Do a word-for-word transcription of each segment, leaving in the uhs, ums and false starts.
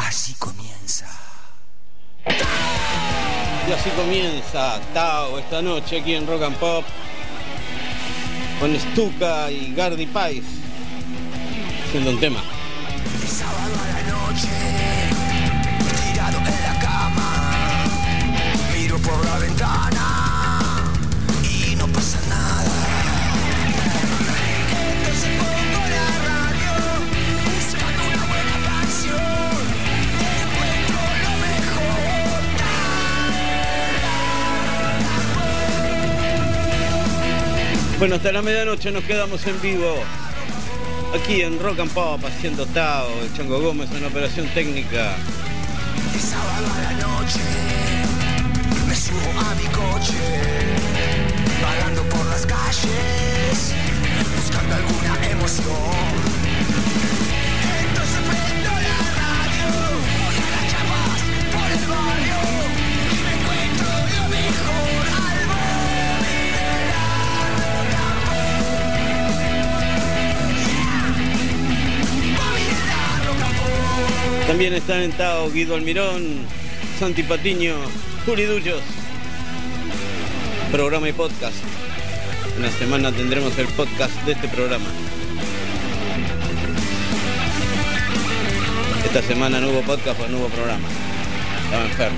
Así comienza. Y así comienza Tao esta noche aquí en Rock and Pop con Stuka y Gardy Pais haciendo un tema. De sábado a la noche, tirado en la cama, miro por la ventana y no pasa nada. Entonces pongo la radio, buscando una buena canción, encuentro lo mejor. Bueno, hasta la medianoche nos quedamos en vivo aquí en Rock and Pop haciendo Tao, el Chango Gómez en operación técnica. De sábado a la noche, me subo a mi coche, vagando por las calles, buscando alguna emoción. Entonces prendo la radio, voy a las chapas por el barrio, y me encuentro lo mejor al móvil de la Rock and Pop. Móvil de la Rock and Pop. También están en Tao Guido Almirón, Santi Patiño, Juli Dullos. Programa y podcast. En la semana tendremos el podcast de este programa. Esta semana no hubo podcast o no hubo programa. Estaba enfermo.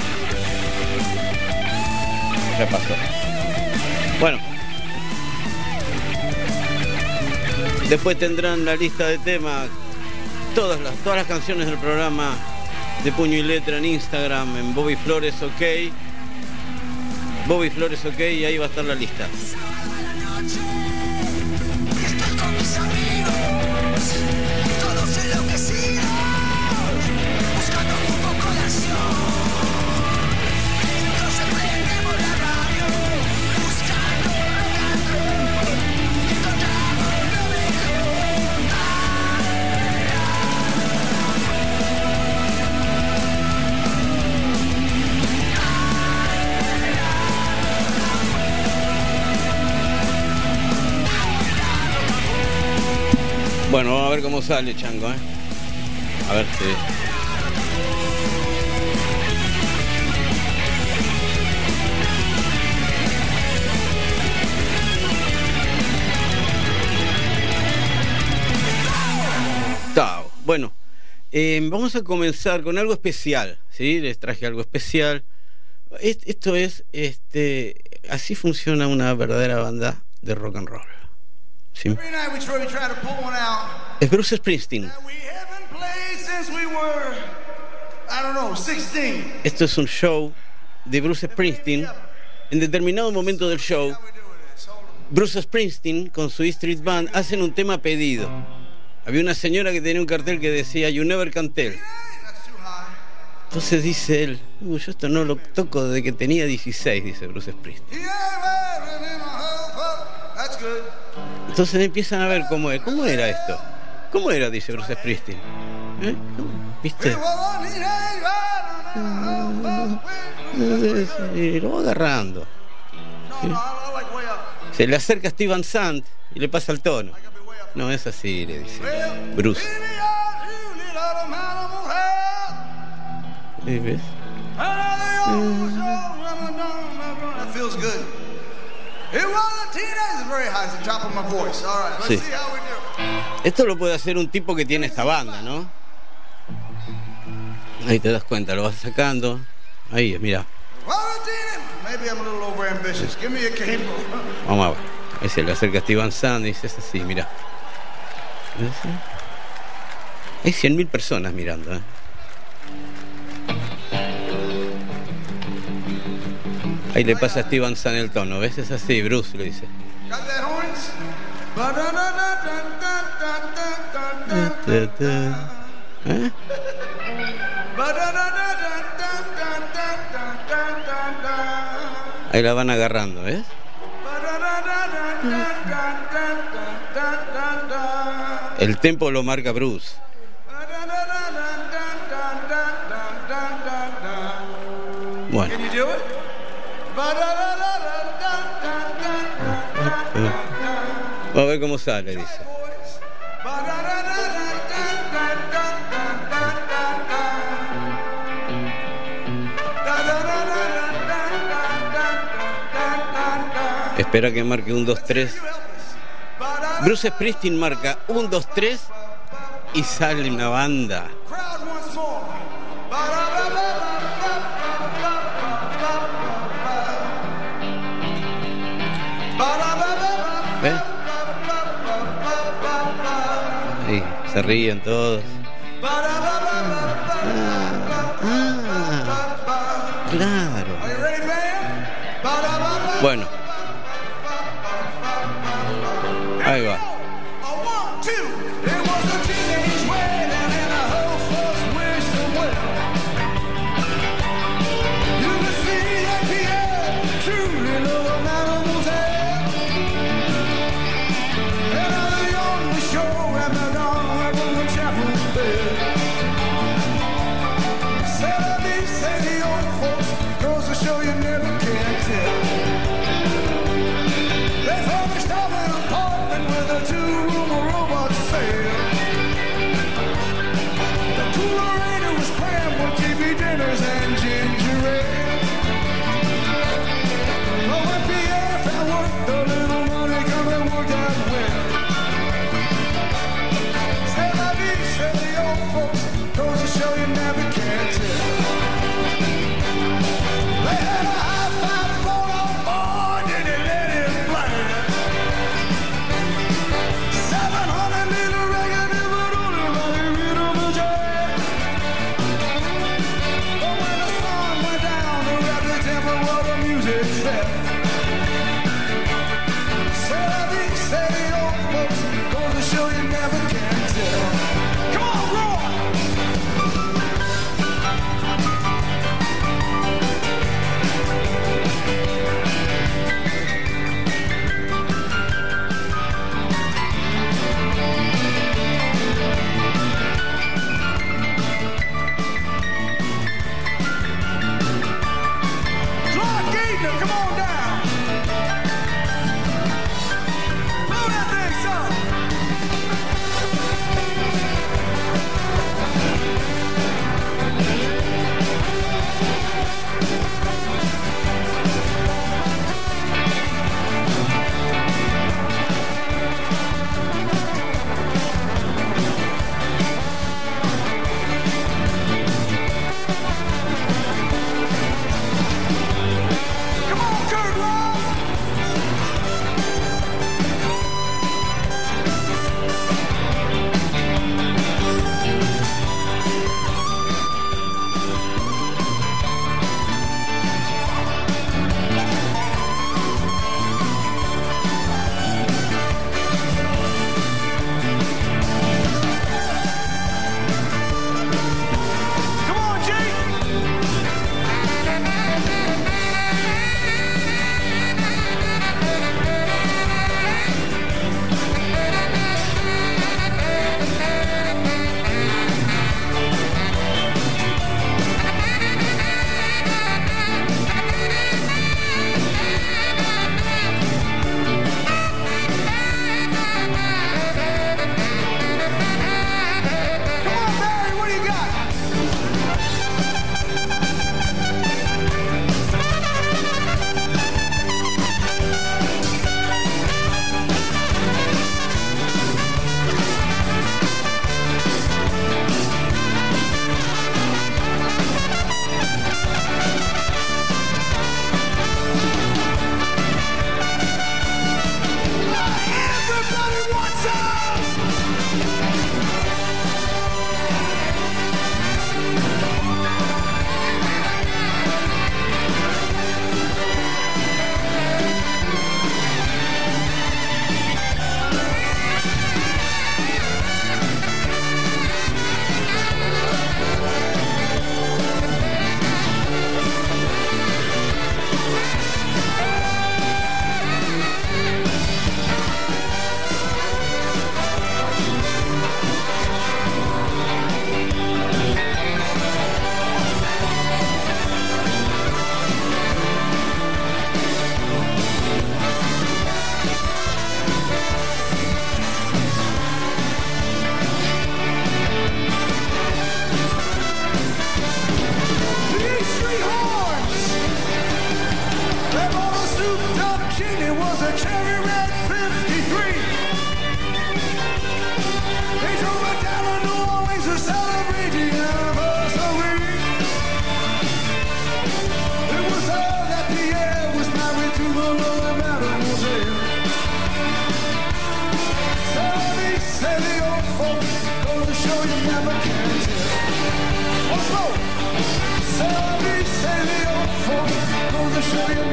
Ya pasó. Bueno. Después tendrán la lista de temas. Todas las, todas las canciones del programa de puño y letra en Instagram, en Bobby Flores OK. Bobby Flores OK, y ahí va a estar la lista. Estoy con mis amigos, todos enloquecidos, buscando un poco de acción. Entonces prendemos la radio, buscando rock and roll, encontramos lo mejor. Bueno, vamos a ver cómo sale, Chango, ¿eh? A ver si... Tao. Bueno, eh, vamos a comenzar con algo especial, ¿sí? Les traje algo especial. Est- Esto es, este, así funciona una verdadera banda de rock and roll. ¿Sí? Every night we try, we try to pull one out Es Bruce Springsteen. that we haven't played since we were, I don't know, sixteen. Esto es un show de Bruce Springsteen. En determinado momento del show, How we doing this? Hold on. Bruce Springsteen con su E Street Band hacen un tema pedido. Había una señora que tenía un cartel que decía You Never Can Tell. Hey, that's too high. Entonces dice él, "Uy, yo esto no lo toco desde que tenía dieciséis", dice Bruce Springsteen. Yeah, man, in my whole fuck. That's good. Entonces empiezan a ver cómo es. ¿Cómo era esto? ¿Cómo era? Dice Bruce Springsteen. ¿Eh? ¿Viste? Well, I need a ride. Y lo va agarrando. No, no, I like way up. Se le acerca a Steven Sant y le pasa el tono. I gotta be way up. No es así, le dice Well, Bruce. baby, I do need a man of my head. ¿Sí, ves? That feels good. It was a teenager, very high, at the top of my voice. All right, let's Sí. see how we do. Esto lo puede hacer un tipo que tiene esta banda, ¿no? Ahí te das cuenta, lo vas sacando. Ahí, mira. Well, a teenager. Maybe I'm a little overambitious. Give me a cable. Vamos a ver. Ahí se le acerca a Steven Sant y dice, es así, mira. ¿Ves? Hay cien mil personas mirando, ¿eh? Ahí le pasa a Steven Sant el tono, ¿ves? Es así, Bruce le dice. Got that horns? ¿Eh? Ahí la van agarrando, ¿ves? El tempo lo marca Bruce. Bueno. Can you do it? Vamos a ver cómo sale, dice. Espera que marque un, dos, tres. Bruce Springsteen marca un, dos, tres y sale una banda. ¿Ves? Ahí, se ríen todos. Ah, ah, claro. Bueno. Ahí va. Show you never can tell. They had a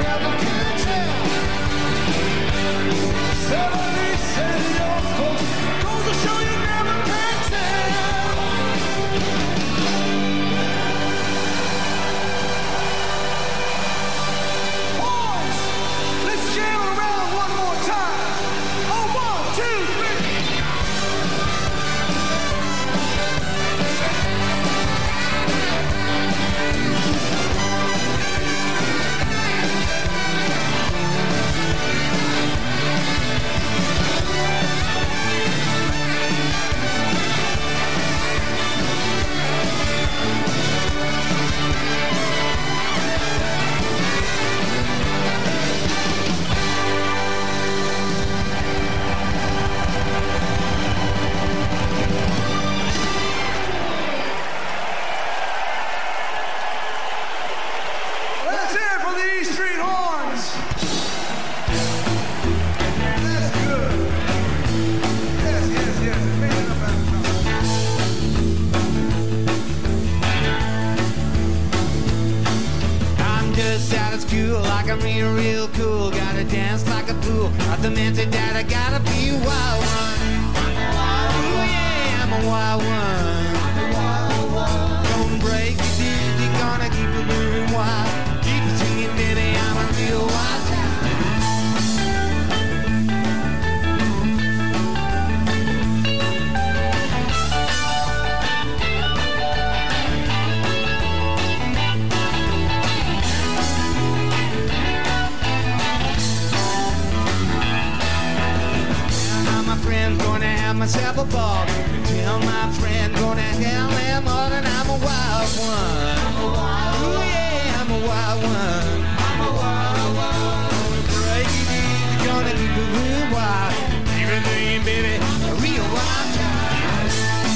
never can tell. Seventy said your folks goes to show you never can tell. Boys, let's jam around one more time. Oh, one, two, three. Let's hear it for the E Street Horns. That's good. Yes, yes, yes. Man up at the I'm just out of school, like I'm real, real cool. Gotta dance like a fool. Not the man said that I gotta be a wild one. Ooh yeah, I'm a wild one. Gonna break it easy, gonna keep it moving wild. Keep it singing, baby, I'm a real wild child. Tell my friends gonna have myself a ball. Tell my friend gonna tell them all that I'm a wild one. Ooh yeah, I'm a wild one. Gonna break it easy, gonna keep it real wild. Keep it thinking, baby, a real wild child.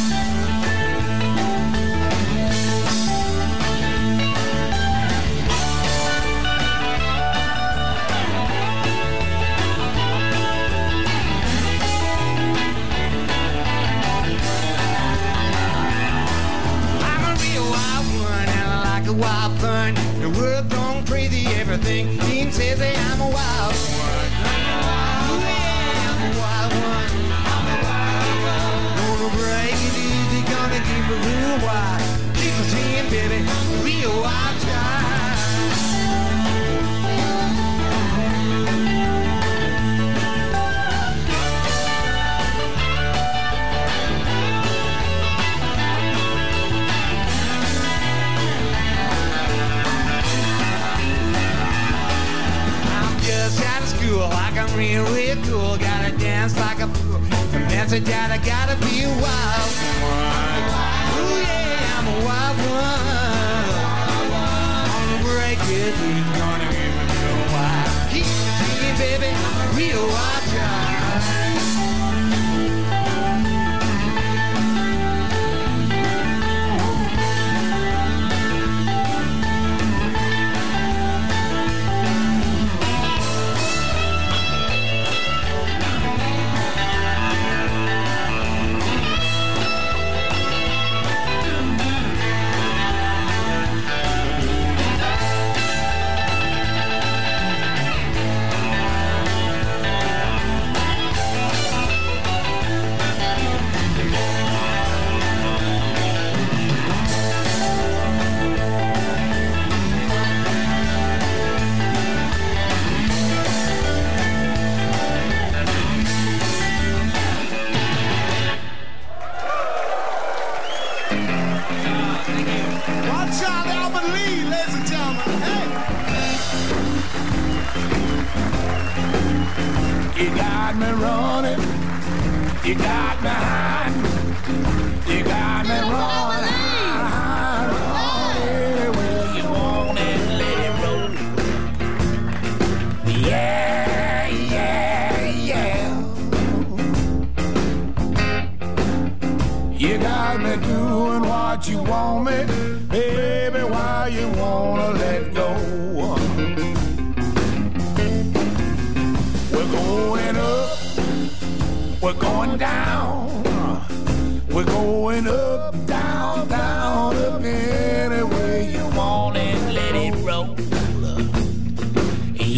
I'm a real wild one, and I like a wild fun. The world gone crazy, everything seems says that I'm a wild one. Ooh yeah, I'm a wild one. Gonna break it easy, gonna keep it real wild. Keep it singing, baby, real wild child. I'm just out of school, like I'm real, real cool. Gotta dance like a fool. The message that I gotta be a wild one. Ooh yeah, I'm a wild one. Gonna break it, who's gonna give me real wild? Keep it singing, baby, real wild child. Watch out, Albert Lee, ladies and gentlemen. Hey. You got me running, you got me hiding, you got me running, anywhere you want it, let it roll. Yeah, yeah, yeah. You got me doing what you want me, baby, why you wanna let go? We're going up, we're going down, we're going up, down, down, up any way you want it, let it roll.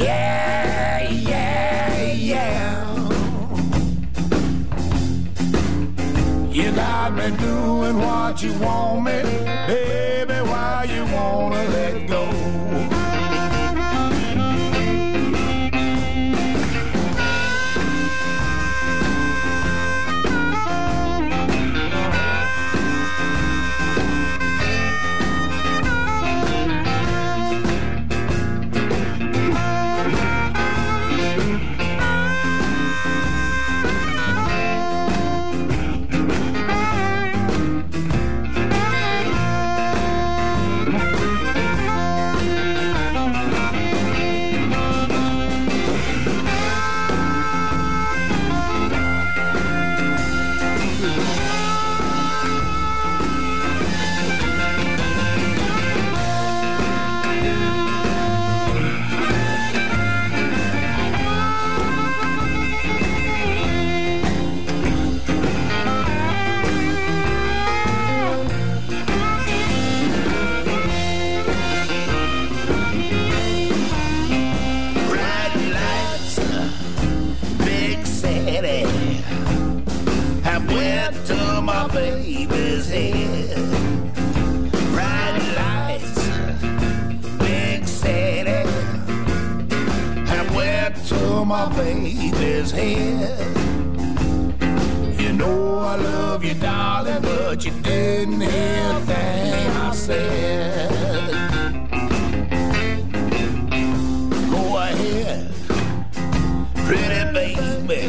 to my baby's head. You know I love you, darling, but you didn't hear a thing I said. Go ahead, pretty baby,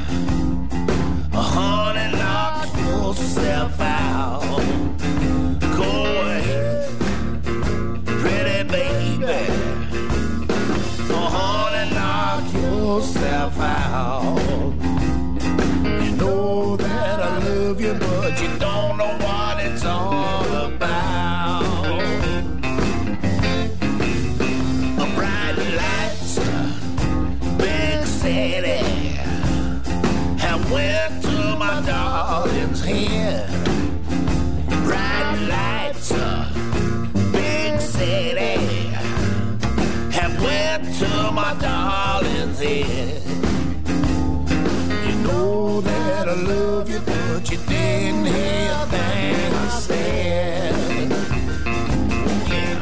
honey, knock yourself out. Go ahead, pretty baby, honey, knock yourself out. You know that I love you, but you don't know what it's all about. A bright lights, big city, I went to my darling's head. Bright lights, big city, I went to my darling's head. Know that I love you, but you didn't hear a thing I said. Yeah.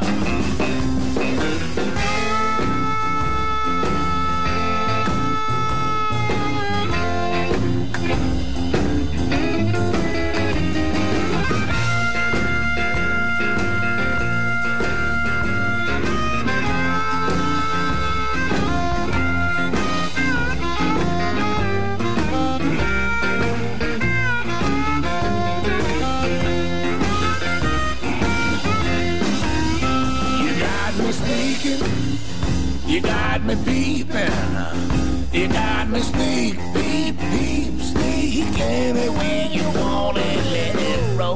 You got me peeping, you got me sneak, peep, peep, sneak, any way you want it, let it roll.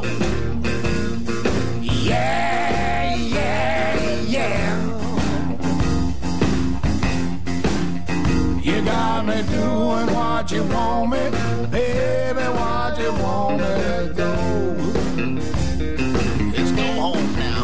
Yeah, yeah, yeah. You got me doing what you want me, baby, what you want me to do. Let's go home now.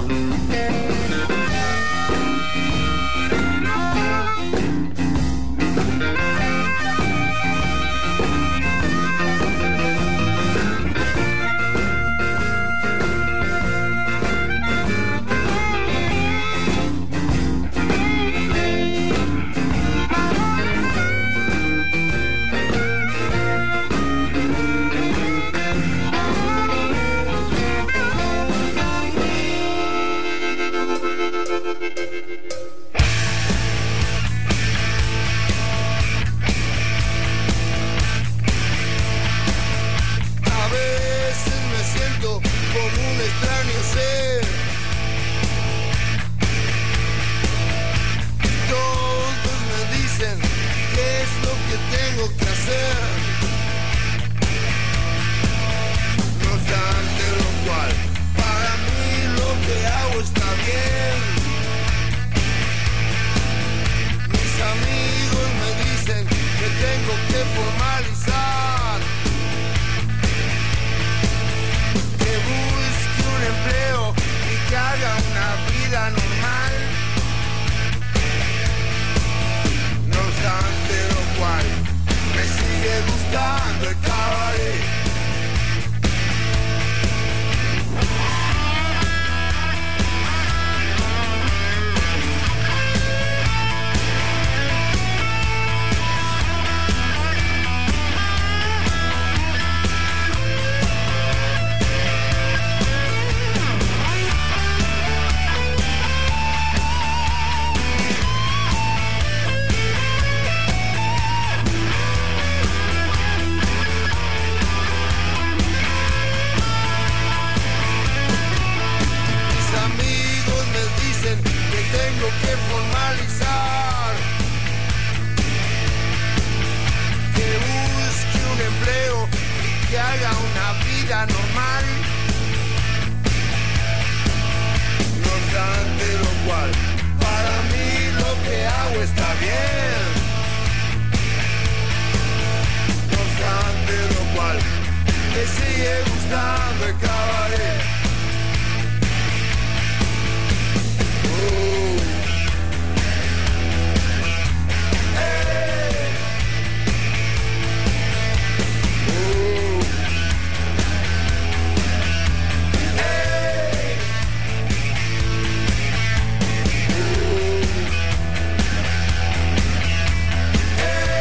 Hey!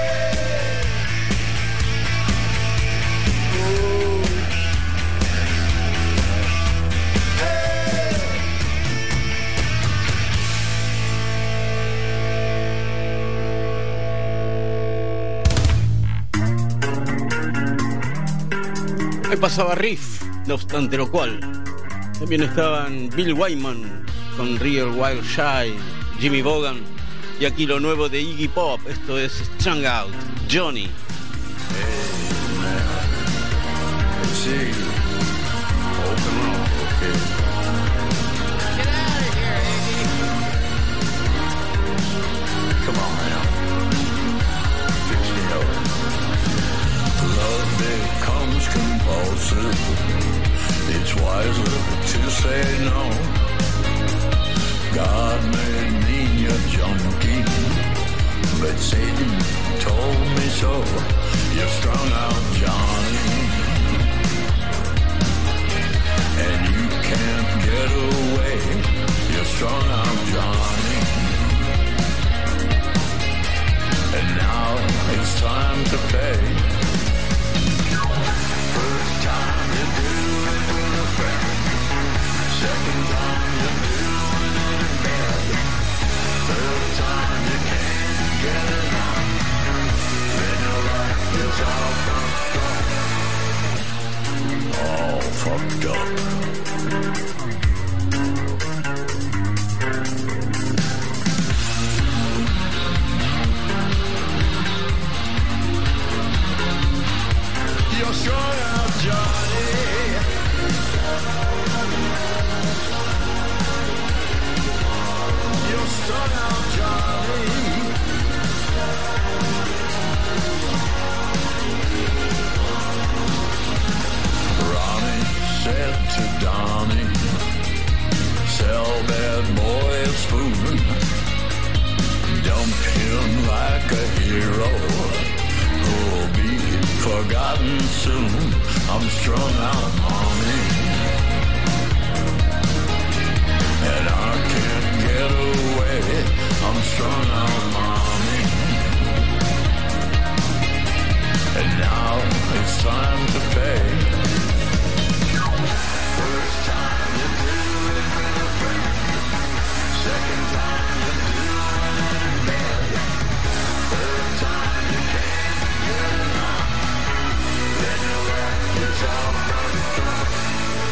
Ahí pasaba Riff, no obstante lo cual. También estaban Bill Wyman con Real Wild Child, Jimmy Vaughan, y aquí lo nuevo de Iggy Pop. Esto es Strung Out, Johnny. Hey, man. Let's see. Open up, okay. Get out of here, Iggy. Come on now. Fix me up. Love becomes compulsive. It's wiser to say no. God made me a junkie, but Satan told me so. You're strung out, Johnny, and you can't get away. You're strung out, Johnny, and now it's time to pay. First time you do it with a friend, second time you do it in bed, third time you can't get it out, then your life is all fucked up. All fucked up. You're strung out, Johnny. You're strung out, Johnny. Ronnie said to Donnie, sell that boy a spoon, dump him like a hero who'll be forgotten soon. I'm strung out, mommy, and I can't get away. I'm strung out, mommy, and now it's time to pay. First time you do it with a friend, second time you do it in bed, third time you can't get it out, then your life is all fucked up.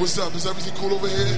what's up? Is everything cool over here?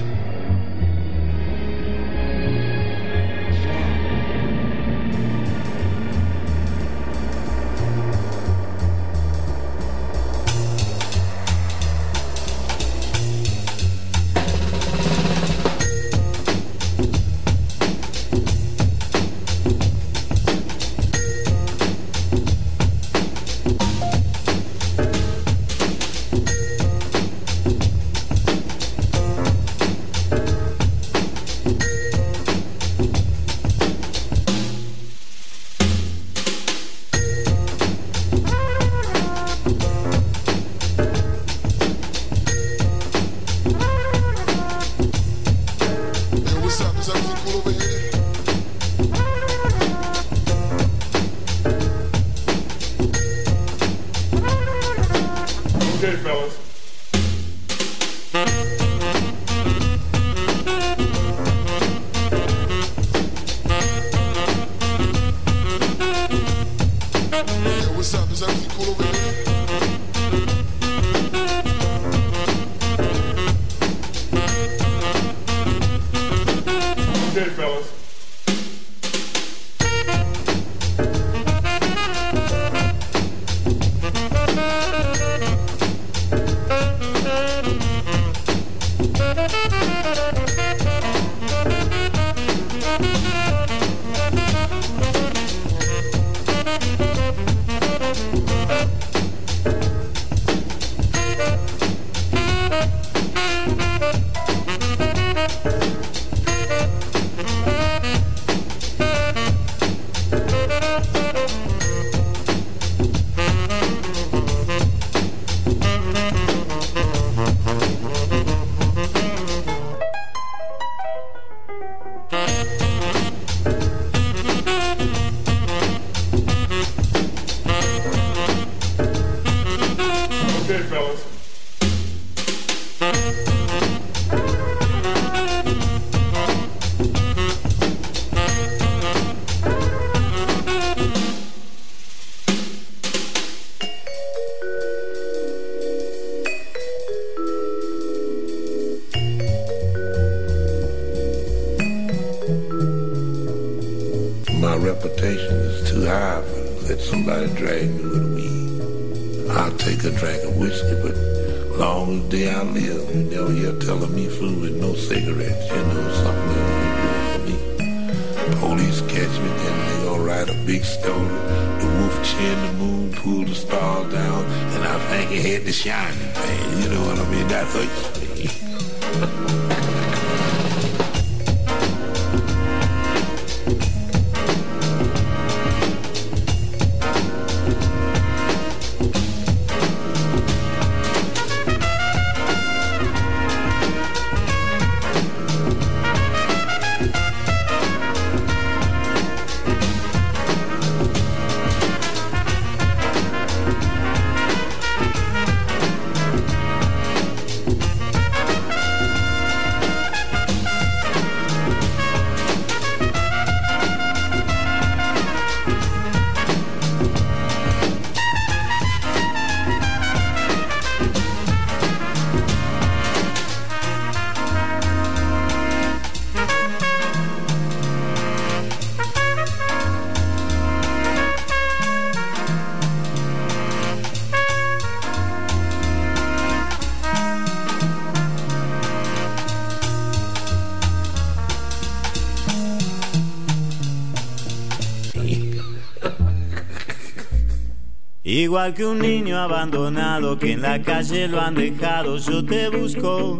Igual que un niño abandonado que en la calle lo han dejado, yo te busco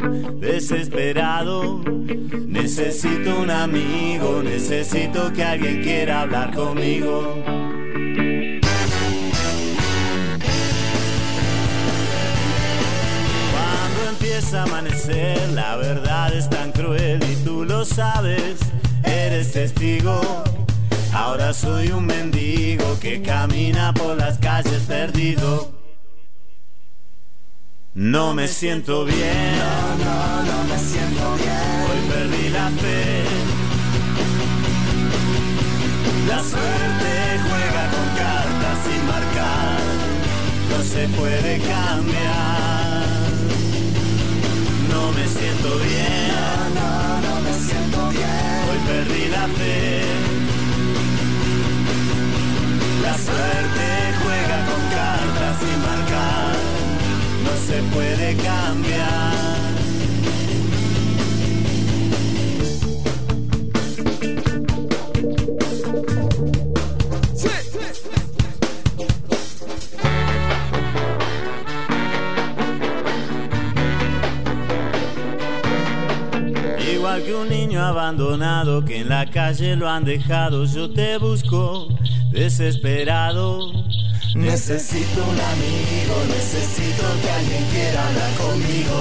desesperado. Necesito un amigo, necesito que alguien quiera hablar conmigo. Cuando empieza a amanecer, la verdad es tan cruel y tú lo sabes, eres testigo. Ahora soy un mendigo que camina por las calles perdido. No me siento bien, no, no, no me siento bien. Hoy perdí la fe. La suerte juega con cartas sin marcar, no se puede cambiar. No me siento bien, no, no, no me siento bien. hoy perdí la fe. La suerte juega con cartas sin marcar, no se puede cambiar. Igual que un niño abandonado que en la calle lo han dejado, yo te busco desesperado. Necesito un amigo, necesito que alguien quiera hablar conmigo.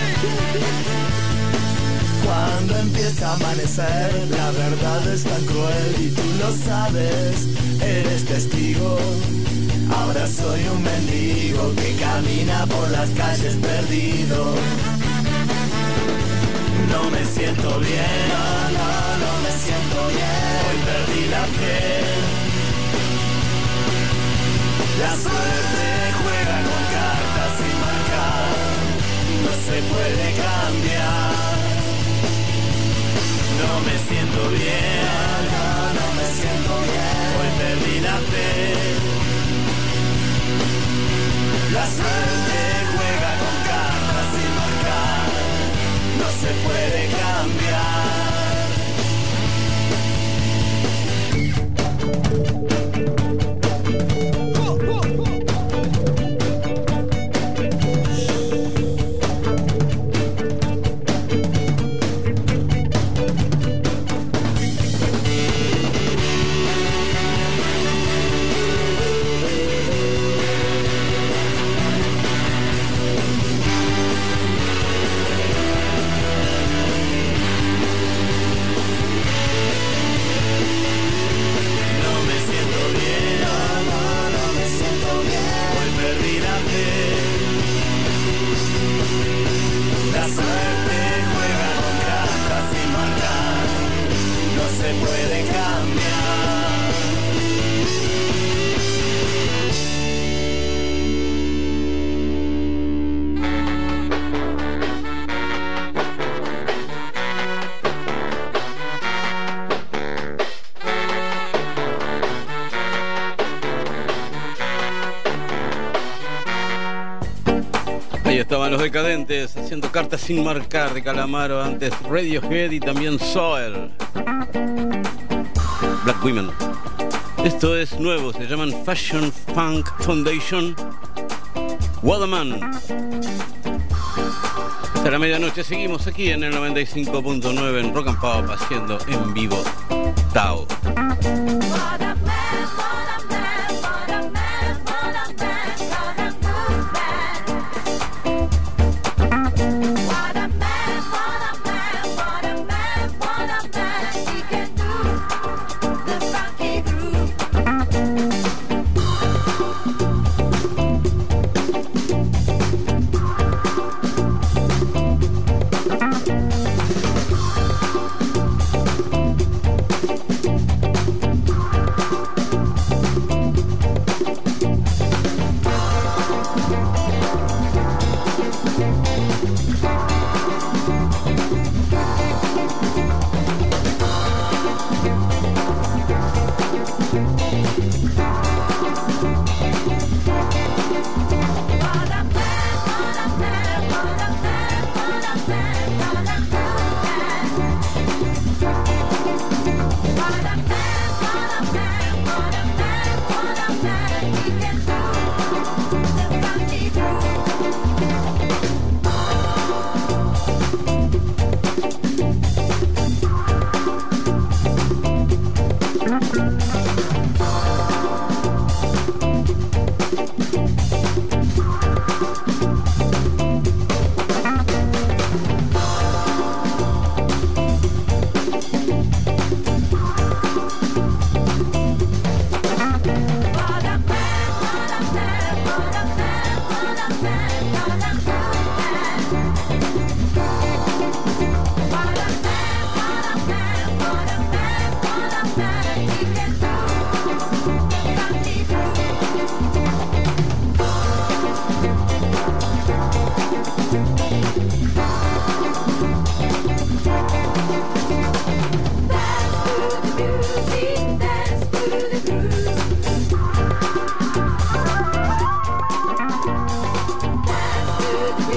Cuando empieza a amanecer, la verdad es tan cruel y tú lo sabes, eres testigo. Ahora soy un mendigo que camina por las calles perdido. No me siento bien, no, no, no me siento bien. Hoy perdí la fe. La suerte juega con cartas sin marcar, no se puede cambiar. No me siento bien, no, no, no me siento bien. Hoy perdí la fe. La suerte juega con cartas sin marcar, no se puede cambiar. La suerte juega con cartas sin marcar, no se puede cambiar. Ahí estaban los Decadentes haciendo Cartas sin marcar de Calamaro, antes Radiohead y también Soil, Black Women. Esto es nuevo, se llaman Fashion Funk Foundation, Waterman. Hasta la medianoche seguimos aquí en el noventa y cinco punto nueve en Rock and Pop, haciendo en vivo Tao.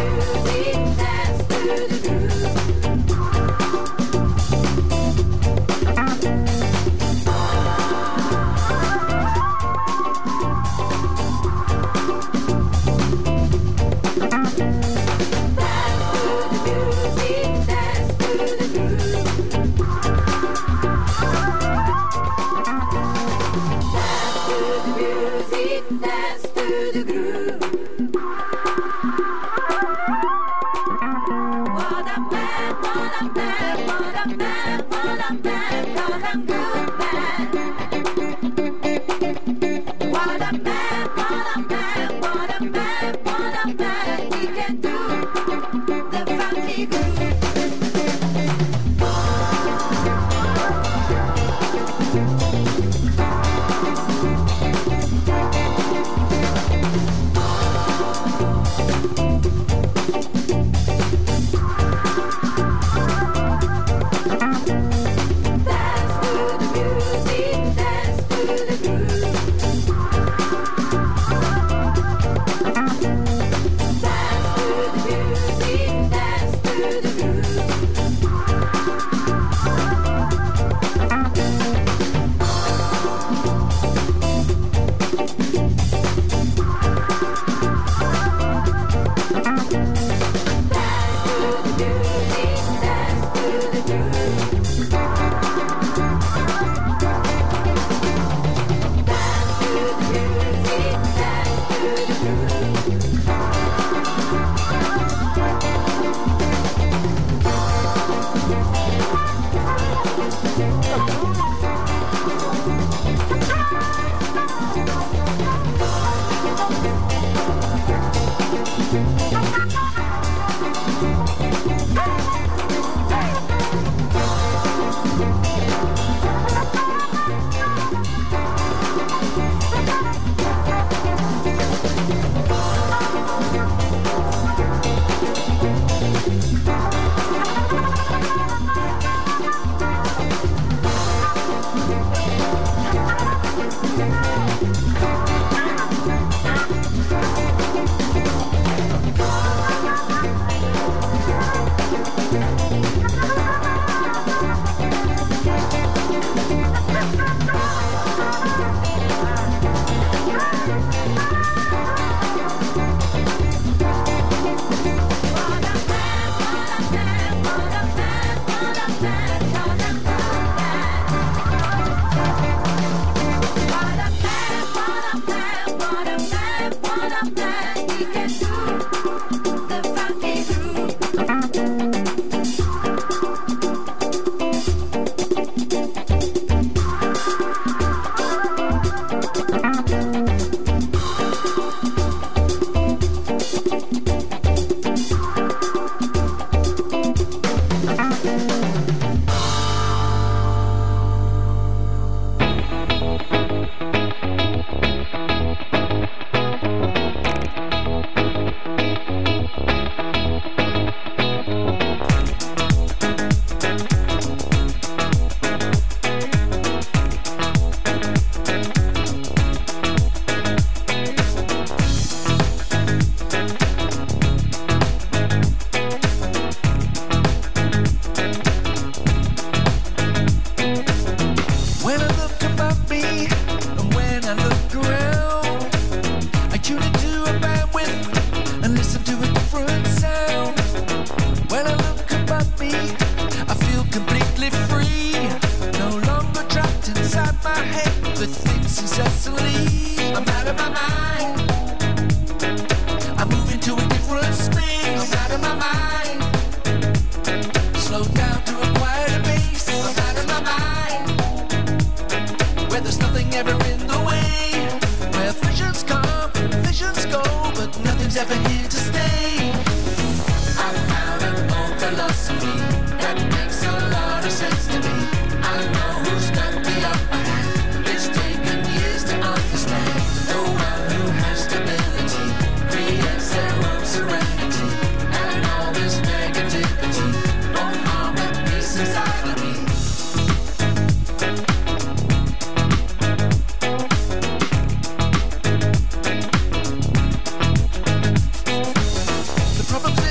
Problems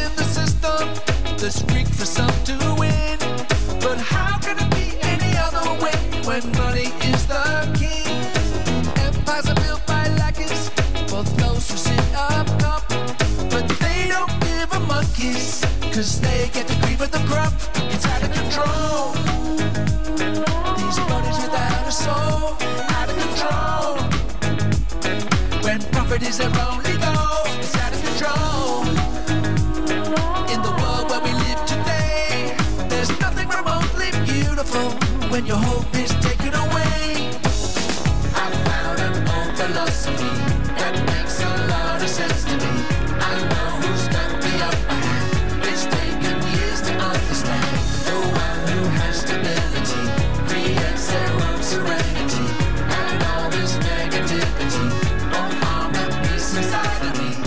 there's a creek for some to win. But how can it be any other way when money is the king? Empires are built by lackeys for those who sit up top, but they don't give a monkeys, cause they get the cream of the crop. It's out of control. These bodies without a soul, out of control. When profit is their only goal, it's out of control. In the world where we live today, there's nothing remotely beautiful when your hope is taken away. I found an old philosophy that makes a lot of sense to me. I know who's got the upper hand. It's taken years to understand. The one who has stability creates their own serenity, and all this negativity won't harm the peace inside of me.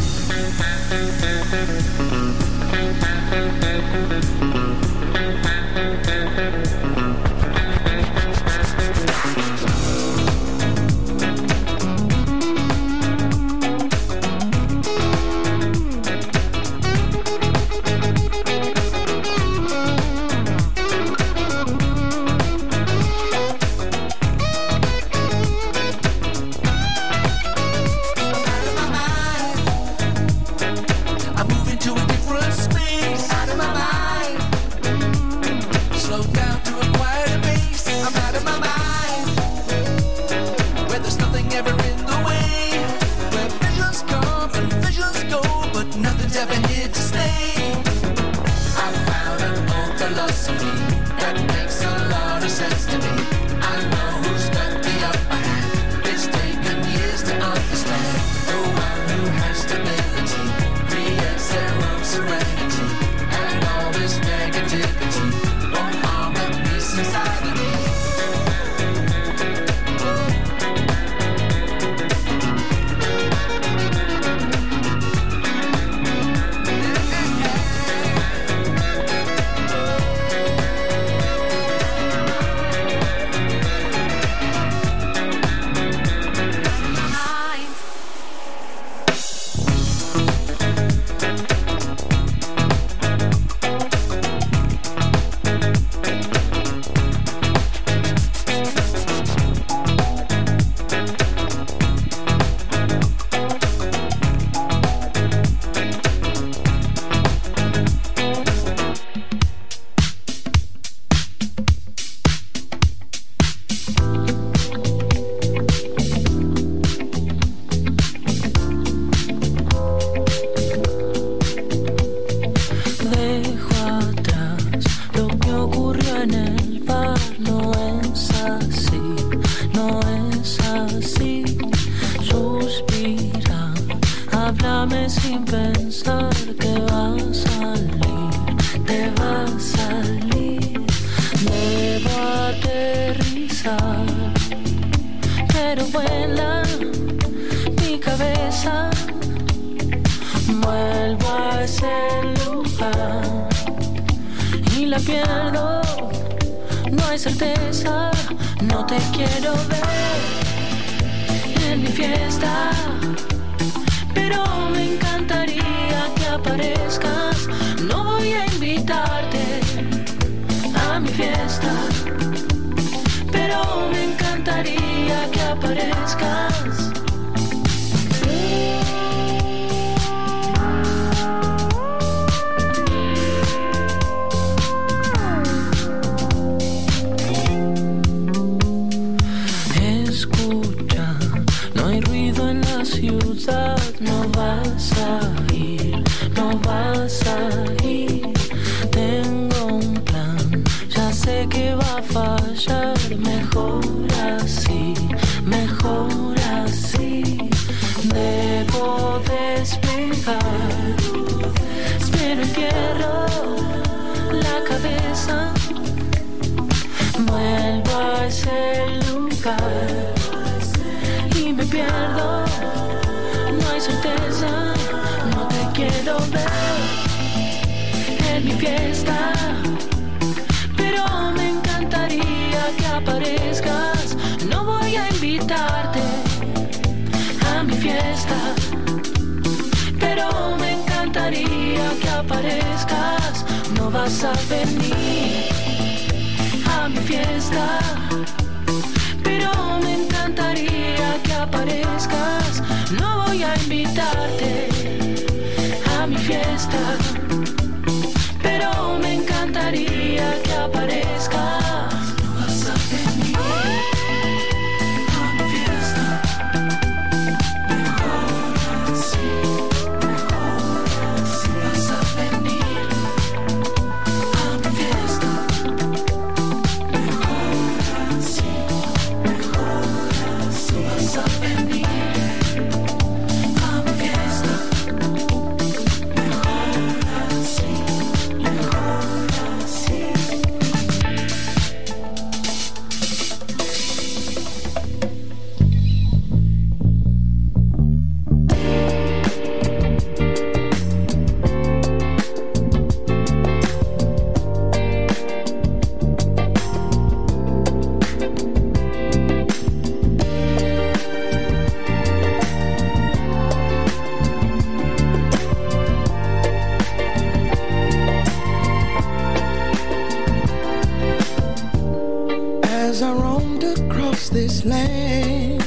Pero me encantaría que aparezcas. no vas a venir a mi fiesta, pero me encantaría que aparezcas. No voy a invitarte a mi fiesta, pero me encantaría que aparezcas. No vas a venir a mi fiesta, mejor así, mejor así. Vas a venir a mi fiesta, mejor así, mejor así. Vas a venir a mi fiesta, mejor así, mejor así. As I roamed across this land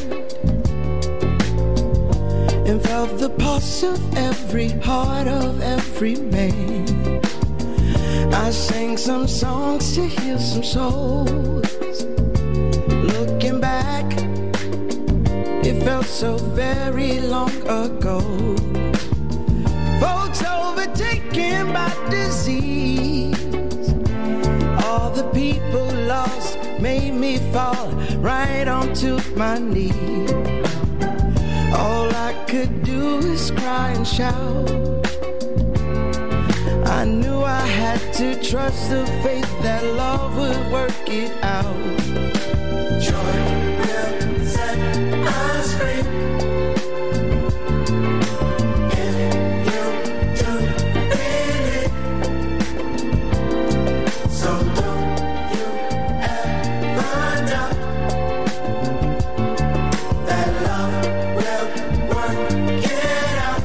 and felt the pulse of every heart of every man, I sang some songs to heal some souls. Looking back, it felt so very long ago. Folks overtaken by disease, all the people lost made me fall right onto my knees. All I could do is cry and shout. I knew I had to trust the faith that love would work it out. Joy will set us free. If you do believe, so don't you ever doubt that love will work it out.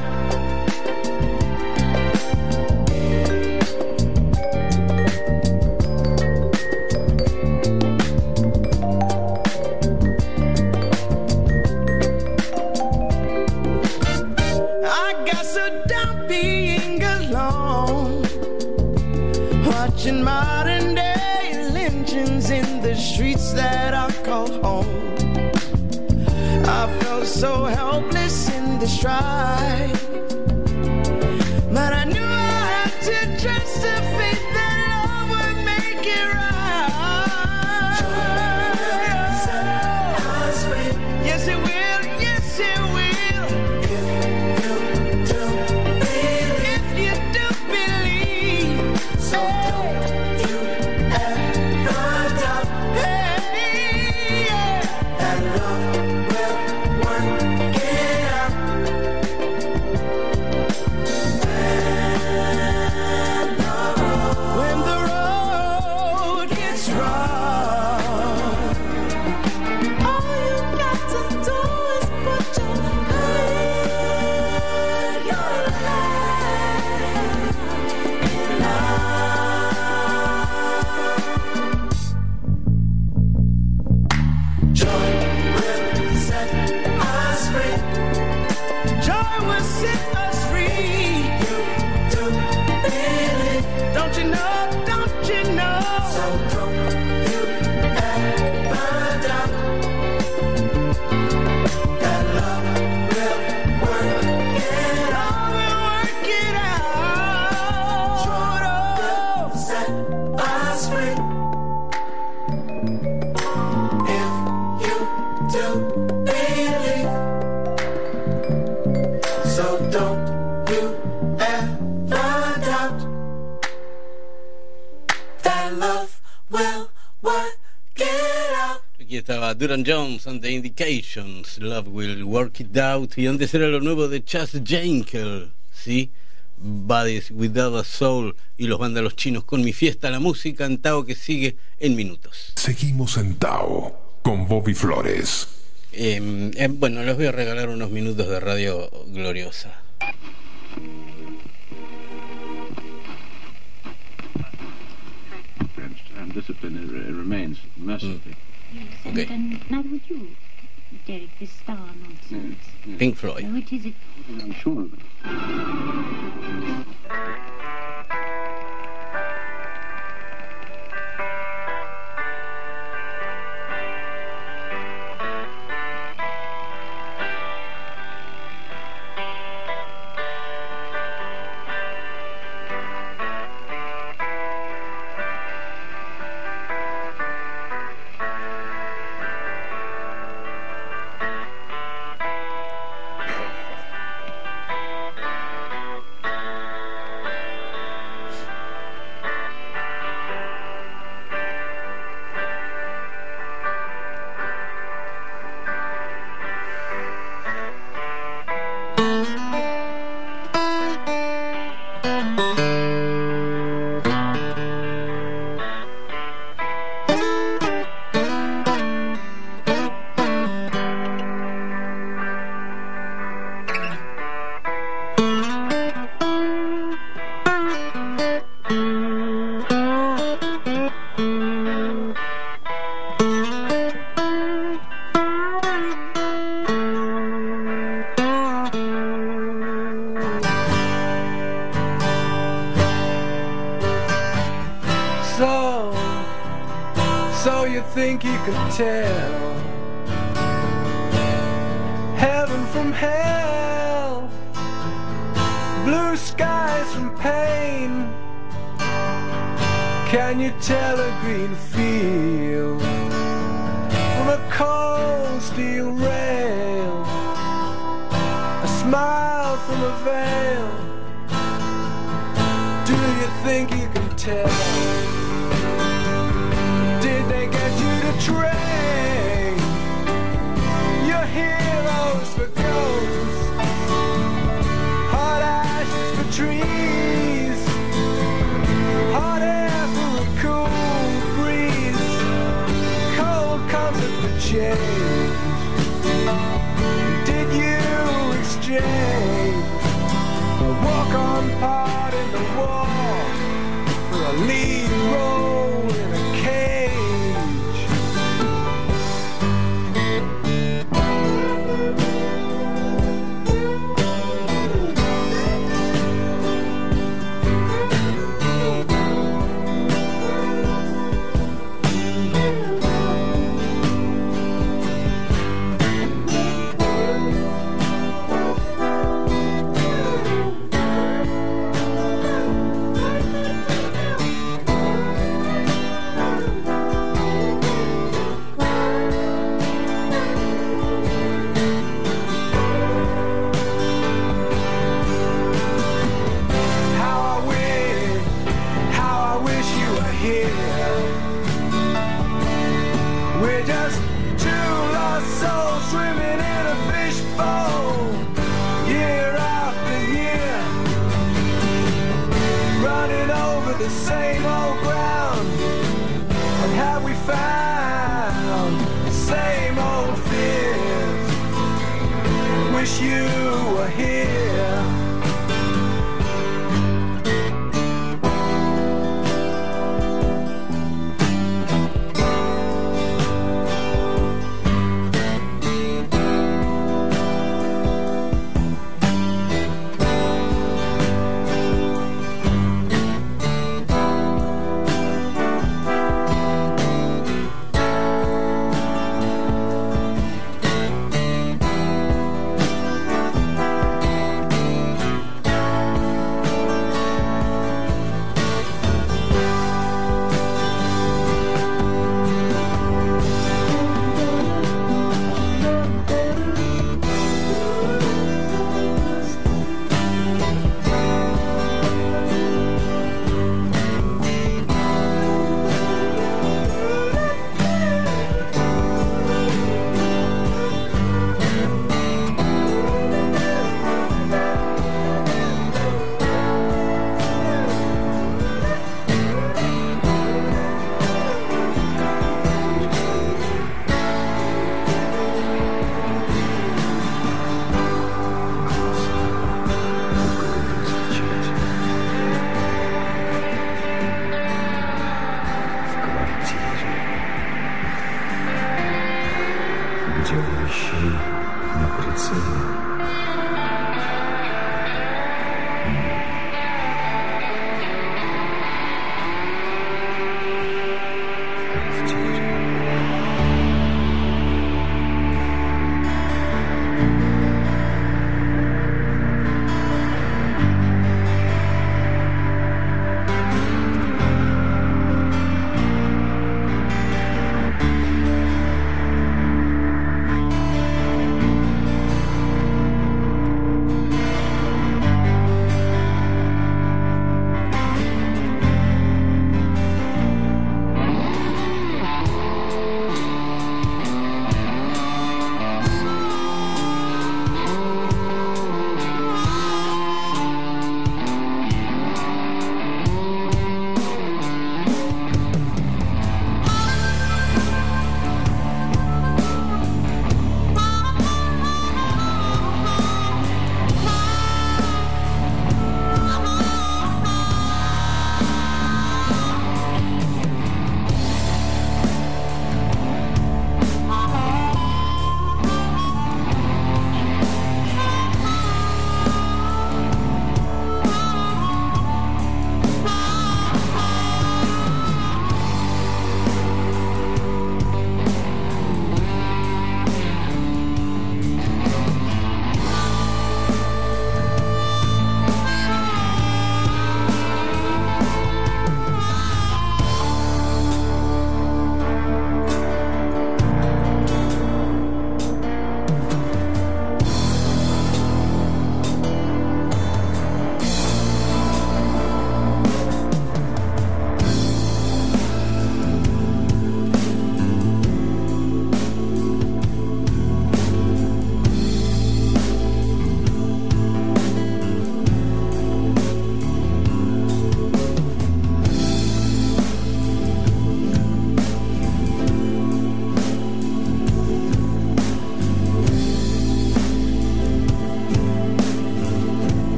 I got so down being alone, watching modern day lynchings in the streets that I call home. I felt so helpless in the strife, but I knew I had to trust the faith that love would make it right. Yes, it will. Yes, it will. If you do believe, if you do believe, so don't you ever doubt. Hey, yeah, that love will work it out. When the road gets rough, all you got to do is put your faith, your life in love. Joy will set us free. Joy will set us free. You do believe, don't you know? Don't you know? So don't you ever doubt that love will work it out. Will work it out. Joy will set us free. If you do believe, so don't you ever doubt that love will work it out. Aquí estaba Duran Jones and the Indications, Love Will Work It Out. Y antes era lo nuevo de Chas Jankel, ¿sí? Bodies Without a Soul y los vándalos chinos con Mi Fiesta, la música en Tao que sigue en minutos. Seguimos en Tao con Bobby Flores. Eh, eh, bueno, les voy a regalar unos minutos de radio gloriosa. discipline it, it remains mercifully. Yes, Okay. and, and neither would you, Derek, this star nonsense. Yes, yes. Pink Floyd. No, it is it. I'm sure of it. So, so you think you can tell heaven from hell, blue skies from pain? Can you tell a green field from a cold steel rail, a smile from a veil? Do you think you can tell? Did they get you to train your heroes for ghosts, hot ashes for trees, hot air for a cool breeze, cold comfort for change? Did you exchange a walk-on part in the wall for a lead role in a cage? We're just two lost souls swimming in a fishbowl, year after year, running over the same old ground. And have we found the same old fears? Wish you were here.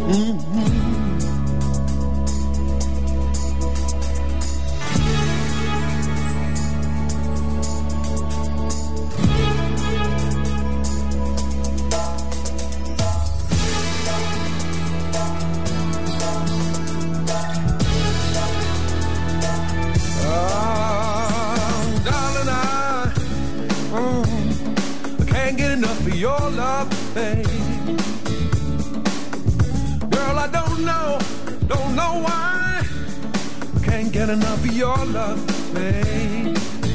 Your love, babe. Girl, I don't know, don't know why I can't get enough of your love, babe.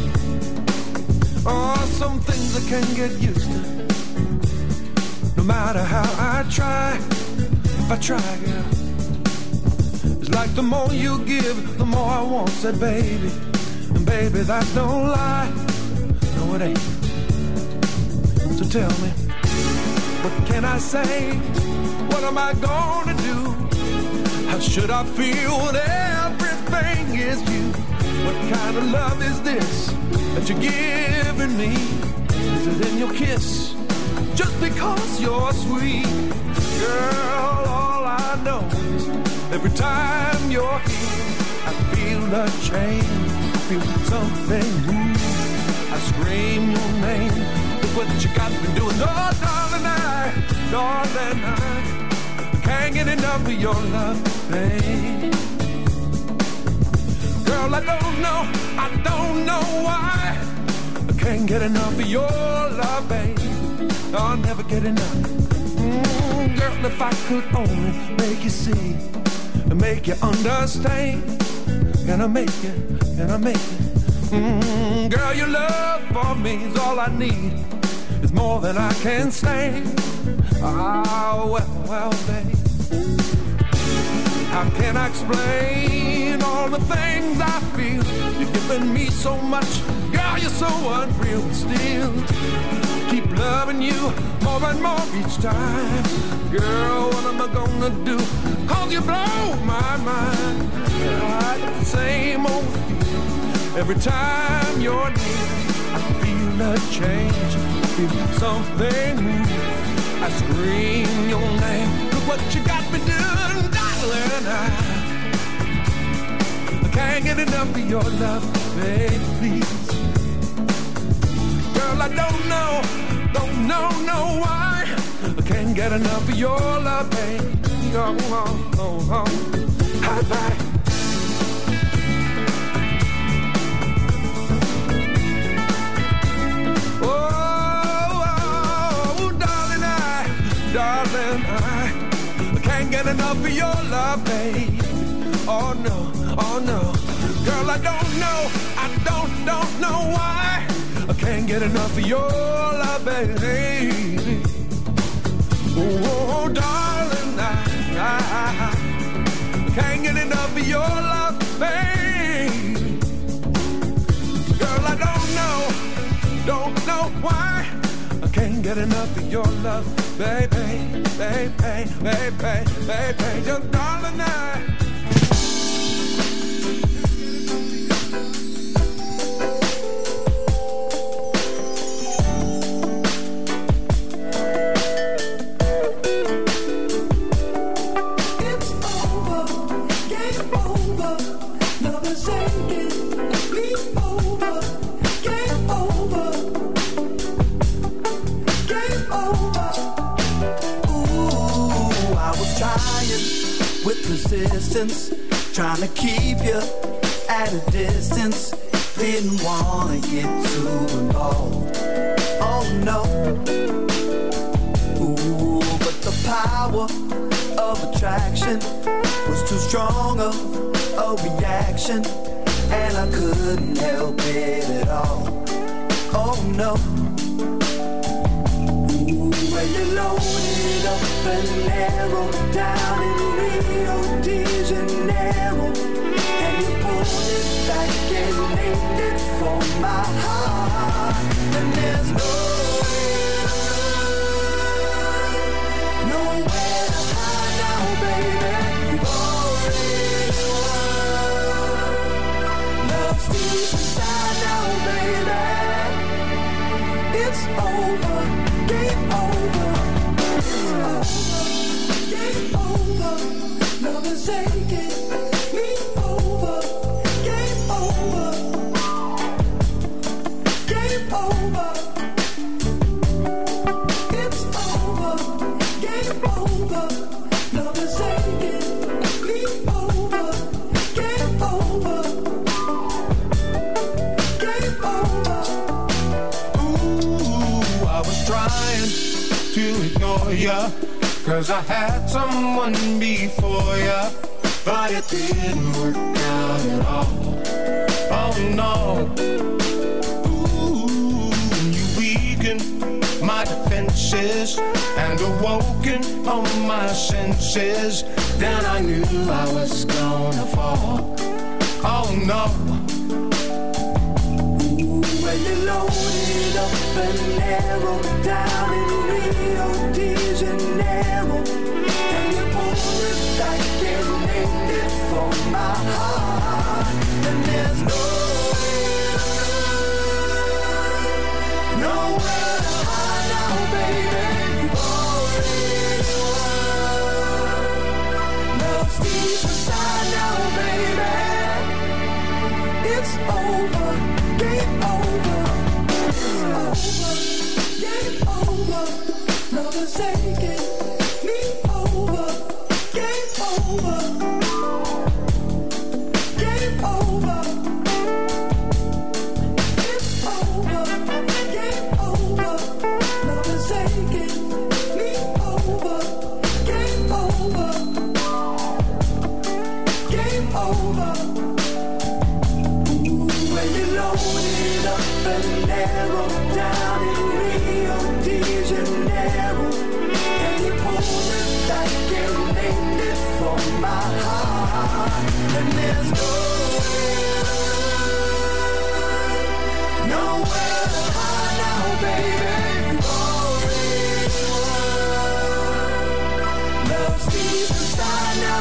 Oh, some things I can't get used to. No matter how I try, if I try, girl. It's like the more you give, the more I want, said baby. And baby, that's no lie. No, it ain't. So tell me, what can I say? What am I gonna do? How should I feel when everything is you? What kind of love is this that you're giving me? Is it in your kiss? Just because you're sweet. Girl, all I know is every time you're here, I feel a change. I feel something new. I scream your name. What you got me doing? Oh, darling, I, darling, I can't get enough of your love, babe. Girl, I don't know, I don't know why I can't get enough of your love, babe. I'll never get enough. Mm, girl, if I could only make you see and make you understand, can I make it? Can I make it? Mm, girl, your love for me is all I need. It's more than I can stand. Ah, well, well, babe. How can I explain all the things I feel? You're giving me so much. Girl, you're so unreal. But still, keep loving you more and more each time. Girl, what am I gonna do? Cause you blow my mind. I get the same old feeling every time you're near. I feel a change. Something new. I scream your name. Look what you got me doing, darling. I, I can't get enough of your love, baby, please. Girl, I don't know, don't know, know why I can't get enough of your love, baby. Oh, oh, oh, oh. High five. Darling, I can't get enough of your love, babe. Oh no, oh no. Girl, I don't know, I don't, don't know why I can't get enough of your love, baby. Oh, darling, I, I, I can't get enough of your love, babe. Girl, I don't know, don't know why I can't get enough of your love, baby, baby, baby, baby, baby, just darling, I. Persistence, trying to keep you at a distance. Didn't wanna get too involved. Oh no. Ooh, but the power of attraction was too strong of a reaction, and I couldn't help it at all. Oh no. Ooh, when you loaded up and narrowed down in Rio de Janeiro, and you pulled it back and named it for my heart. And there's no nowhere to hide now, baby. You've already won. Love's deep inside now, baby. It's over, game over. It's over, game over. Cause I had someone before ya, but it didn't work out at all. Oh no. Ooh, you weakened my defenses and awoken all my senses. Then I knew I was gonna fall. Oh no. Ooh, when you loaded up and narrowed down in Rio de Janeiro, and you pulled it back and named it for my heart. And there's nowhere, nowhere to hide now, baby. You've already won. Love's deep inside now, baby. It's over, game over. It's over, game over. Love is taking me over. Game over. Game over. It's over. Game over. Love is taking me over. Game over. Game over. Ooh, when you loaded up and narrowed down in Rio de Janeiro, and you pulled it back and named it for my heart. And there's nowhere, nowhere to hide now, baby. You've already won. Love's deep inside now,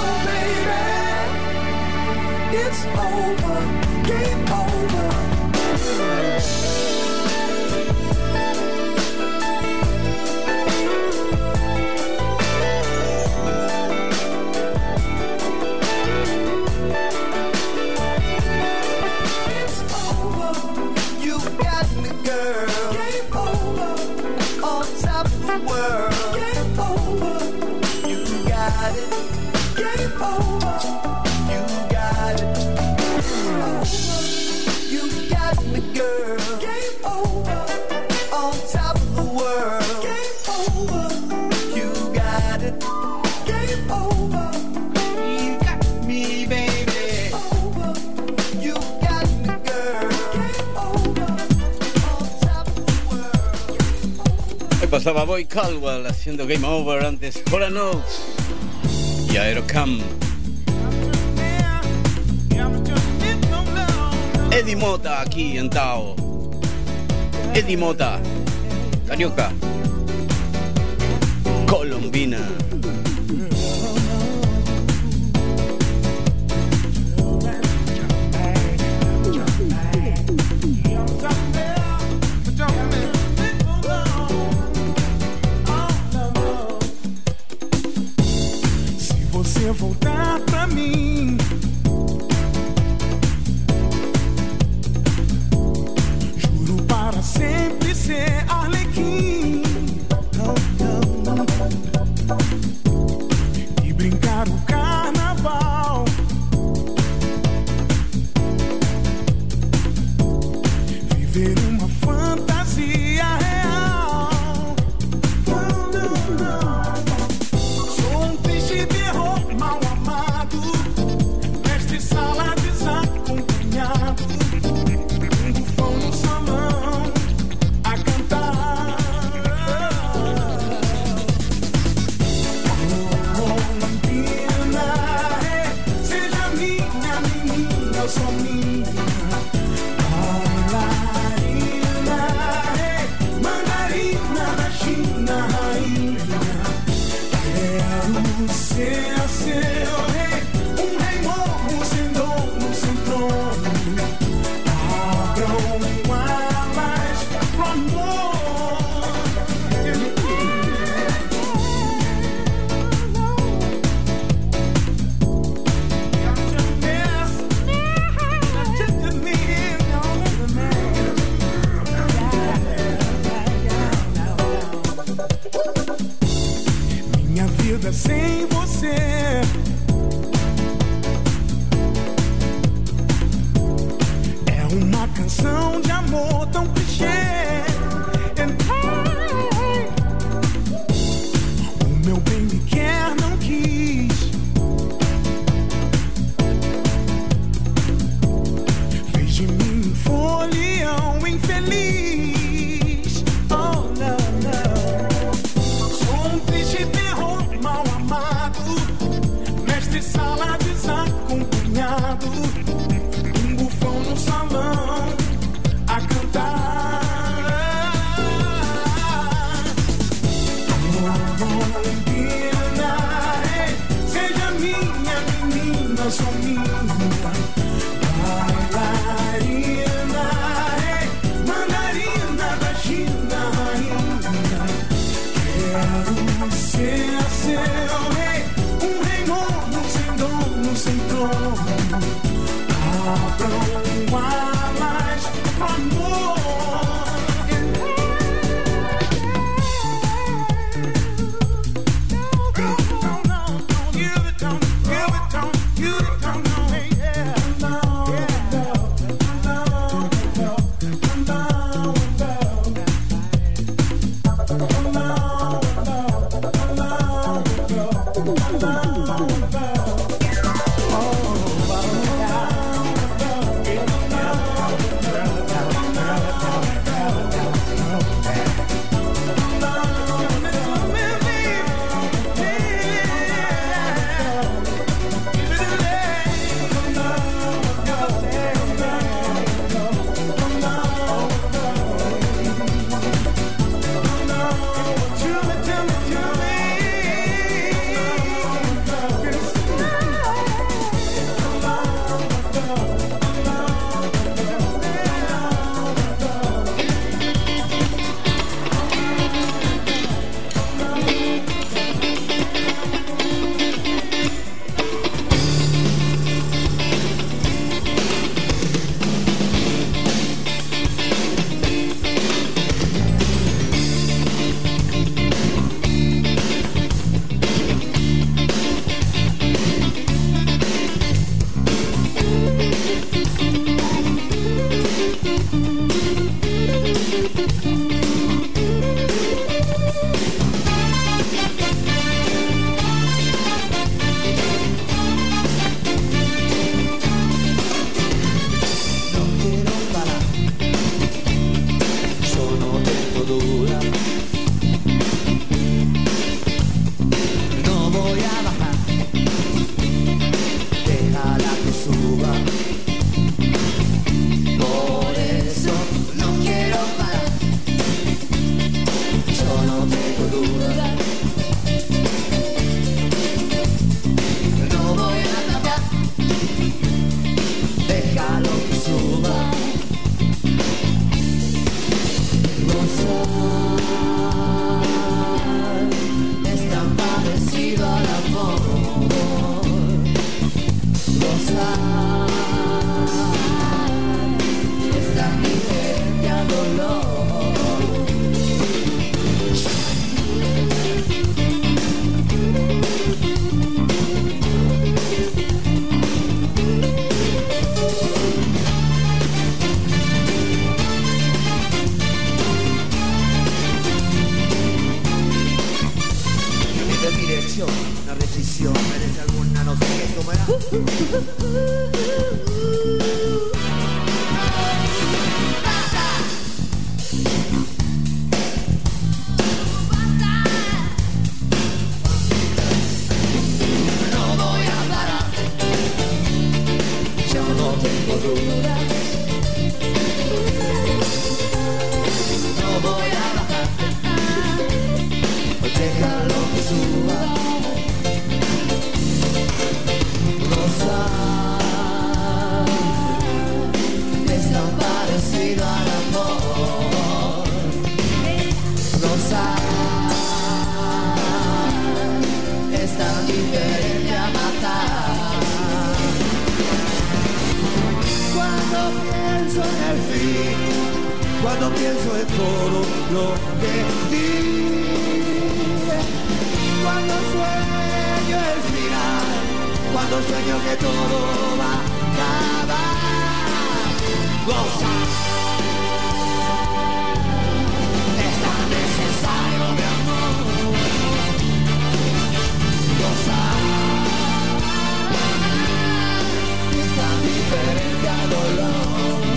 baby. It's over, game over. Pasaba Boy Caldwell haciendo Game Over, antes Hall and Oates y Aerocam. Eddie Mota aquí en Tao. Eddie Mota, carioca, colombina. Voltar pra mim, juro para sempre ser Arlequim, e brincar o carnaval, viver uma fantasia real. Não, não, não. Sou um triste terror mal amado, mestre sala desacompanhado, um bufão no salão a cantar. Oh, Lampina, seja minha menina, eu sou minha. Bailarina, mandarina da China, rainha. Quero ser seu rei, um rei novo sem dono, sem trono. Abram alas pro amor. vida sem você. É uma canção de amor tão clichê. And I, o meu bem me quer, não quis. Fez de mim um folião infeliz. Oh, não, não. Sou um triste terror mal amado, mestre sala desacompanhado, um bufão no salão a cantar. Menina, seja minha menina, sou minha bailarina, mandarina da China, rainha. Quero ser seu rei, um rei novo, sem dono, sem trono. Abram alas pro amor. Una decisión, merece alguna, no sé qué tomará. No voy a parar, yo no tengo dudas. No voy a bajar, déjalo que suba. Es tan parecido al amor. Gozar es tan diferente a matar. Cuando pienso en el fin, cuando pienso en todo lo que di, cuando sueño cuando sueño que todo va a acabar. Gozar es tan necesario, mi amor. Gozar es tan diferente al dolor.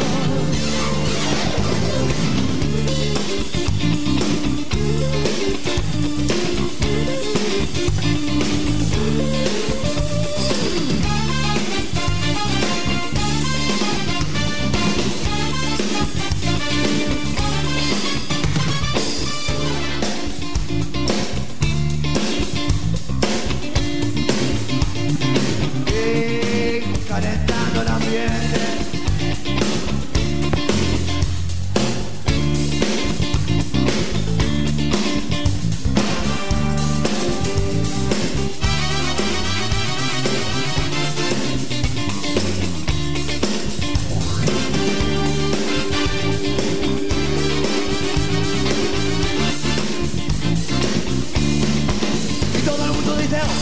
Calentando el ambiente. Y todo el mundo dice oh.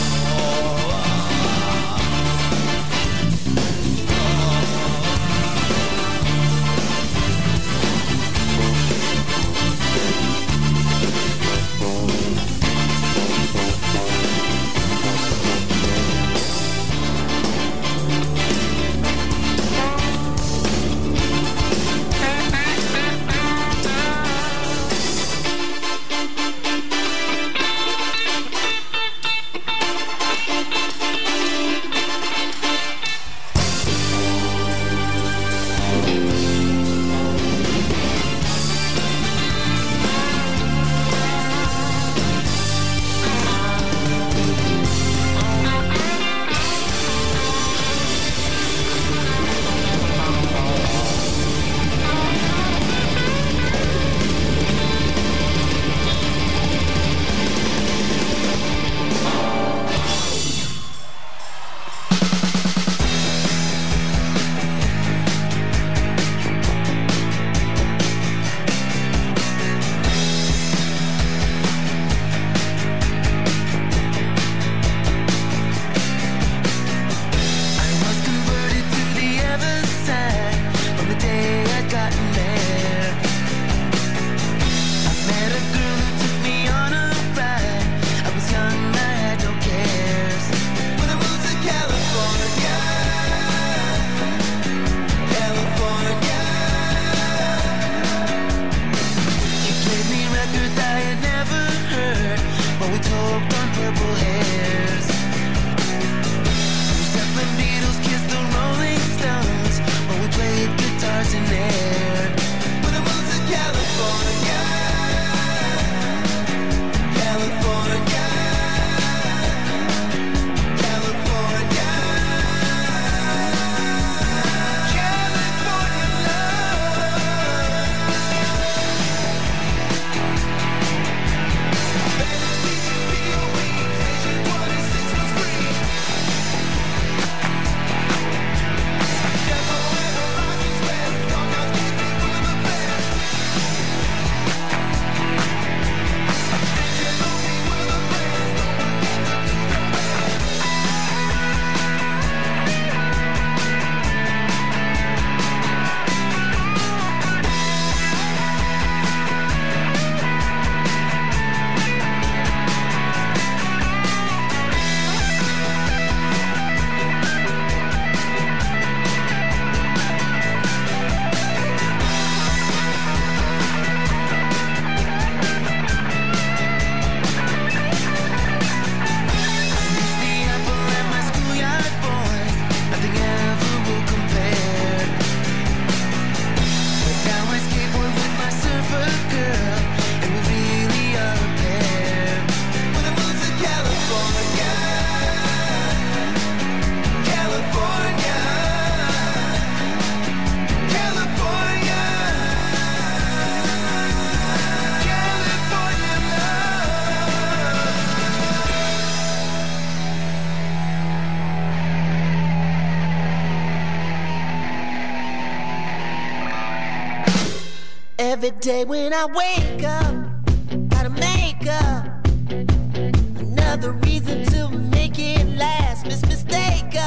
Every day when I wake up, gotta make up another reason to make it last. Miss Mistake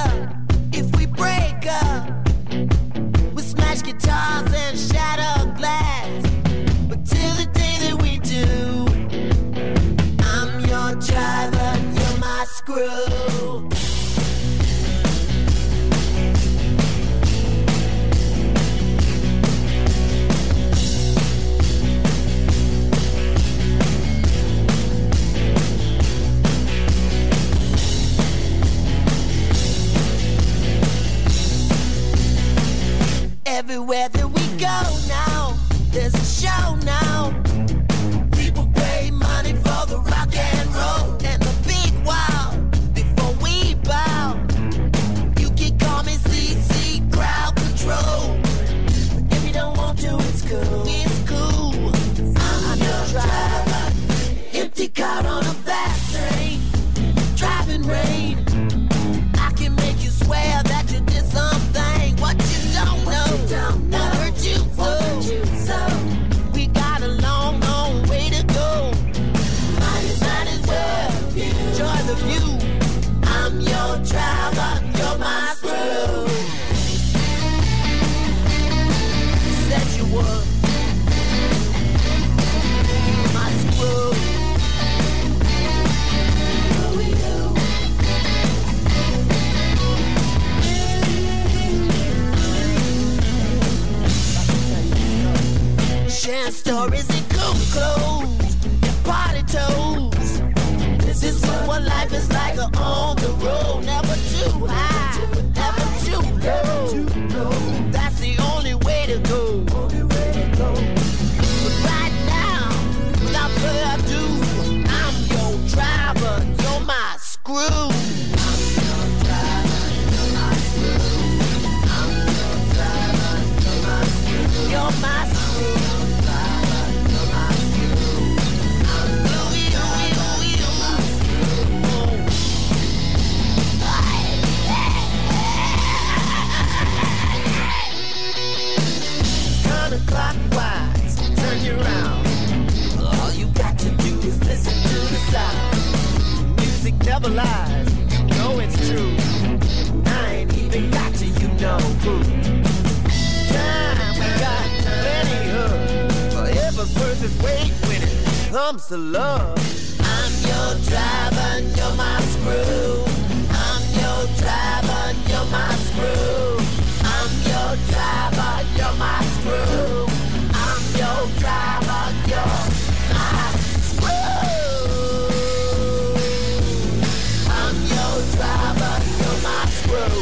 screw. Everywhere that we go now, there's a show now. People pay money for the rock and roll and the big wow. Before we bow, you can call me C C Crowd Control. If you don't want to, it's cool. It's cool. I'm your driver. Empty car on a fast train. Driving rain. I can make you swear that you did something. What you don't know. Don't know. Hurt you so. You so. We got a long, long way to go. Might as, might as well enjoy the view. I'm your driver, you're my screw. Said you were my screw. Sharing stories and cool clothes and party toes. This is what life is like on the road. Never too high, never too low. That's the only way to go. But right now, without further ado, I'm your driver, you're my screw. I'm your driver, you're my screw. I'm your driver, you're my screw. You're my screw. Clockwise, turn you around. All you got to do is listen to the sound. Music never lies, you know it's true. I ain't even got to, you know who. Time we got plenty of. Forever's worth its weight when it comes to love. I'm your driver, you're my screw. I'm your driver, you're my screw. I'm your driver, you're my screw. I'm your driver, you're my screw. I'm your driver, you're my screw.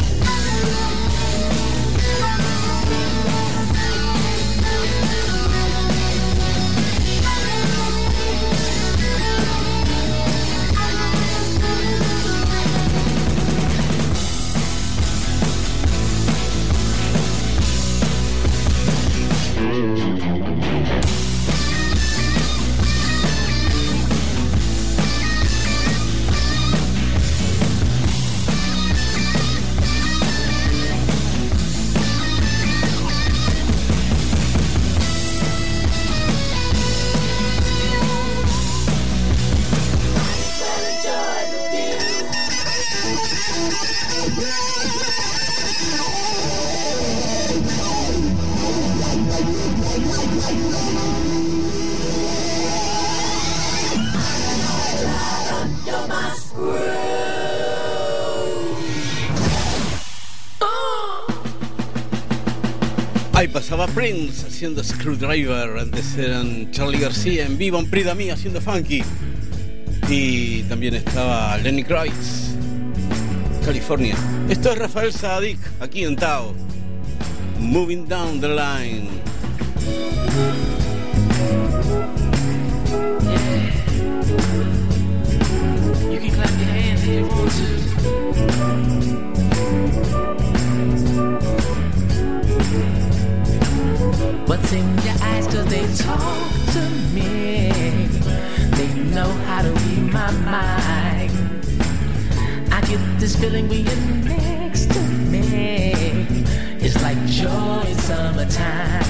Ahí pasaba Prince haciendo Screwdriver. Antes eran Charlie García en vivo en Prida Mía haciendo funky. Y también estaba Lenny Kravitz, California. Esto es Rafael Saadic, aquí en Tao. Moving Down the Line. Yeah. You can clap your hands if you want to. What's in your eyes, cause they talk to me. They know how to read my mind. I get this feeling when you're next to me. It's like joy in summertime.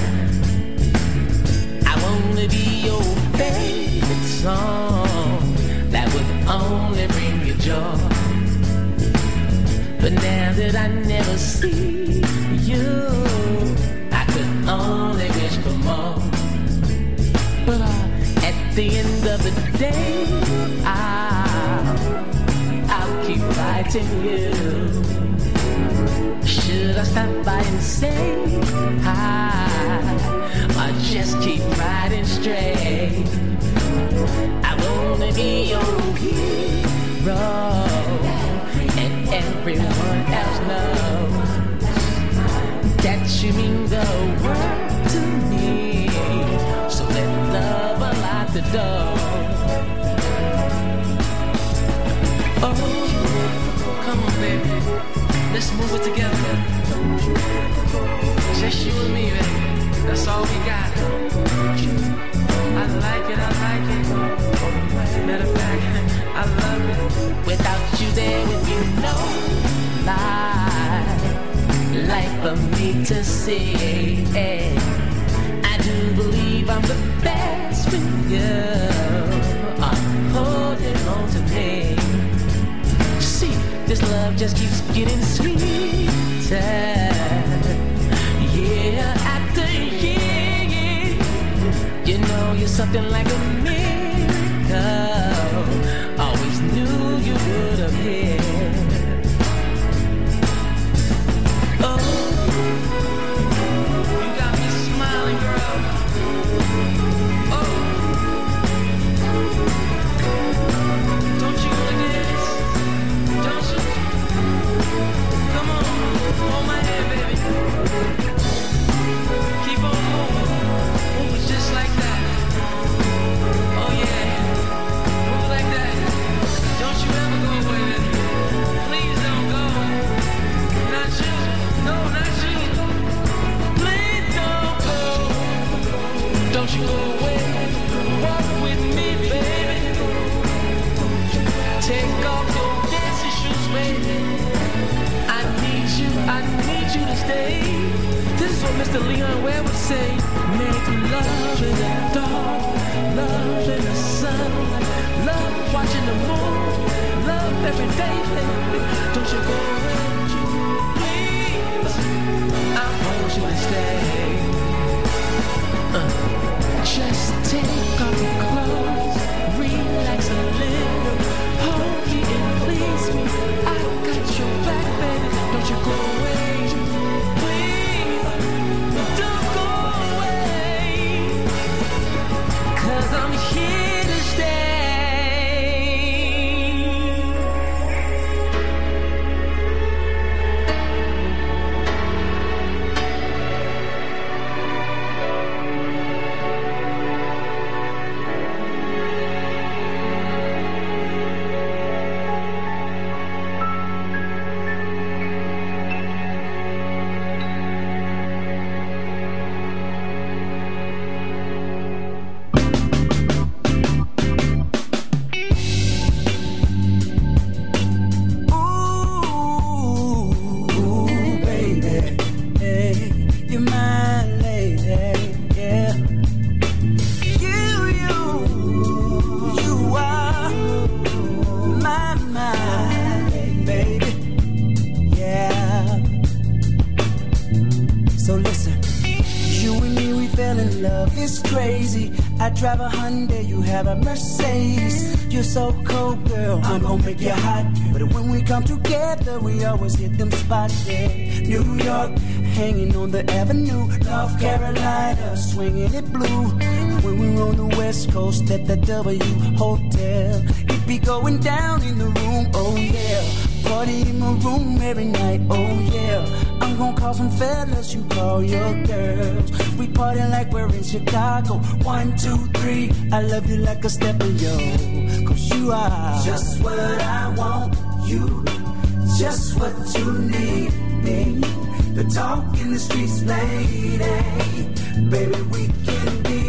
I wanna be your favorite song that would only bring you joy. But now that I never see you, I could only wish for more. But uh, at the end of the day, I'll expecting you. Should I stop by and say hi, or just keep riding straight? I wanna be your hero, and everyone else knows that you mean the world to me. So let love unlock the door. Oh, come on, baby, let's move it together. Just you and me, baby. That's all we got. I like it, I like it. Matter of fact, I love it. Without you there with me, no lie. Life for me to see. I do believe I'm the best for you. I'm holding on to me. See, this love just keeps getting sweeter. Yeah, after year, you know you're something like a miracle. Always knew you would appear. Oh, you got me smiling, girl. Oh, don't you wanna dance? Don't you? Come on, hold my hand, baby. Keep on moving, moving just like that. Oh yeah, move like that. Don't you ever go away, baby. Please don't go. Not you, no, not you. Please don't go. Don't you go away. Walk with me, baby. Take off your dancing shoes, baby. I need you, I need you to stay. This is what Mister Leon Ware would say. Make love in the dark, love in the sun, love watching the moon, love every day, baby. Don't you go away, please. I want you to stay. Uh, just take off your clothes, relax a little, hold me and please me. I got your back, baby. Don't you go away, please. Don't go away, 'cause I'm here to stay. Drive a Hyundai, you have a Mercedes. You're so cold, girl, I'm gonna make you hot. But when we come together, we always hit them spots, yeah. New York, hanging on the avenue. North Carolina, swinging it blue. When we're on the West Coast at the W Hotel, it be going down in the room, oh yeah. Party in my room every night, oh yeah. I'm gonna call some fellas, you call your girls. We party like we're in Chicago. One, two, three, I love you like a step of yo. 'Cause you are just what I want, you just what you need, me. The talk in the streets, lady. Baby, we can be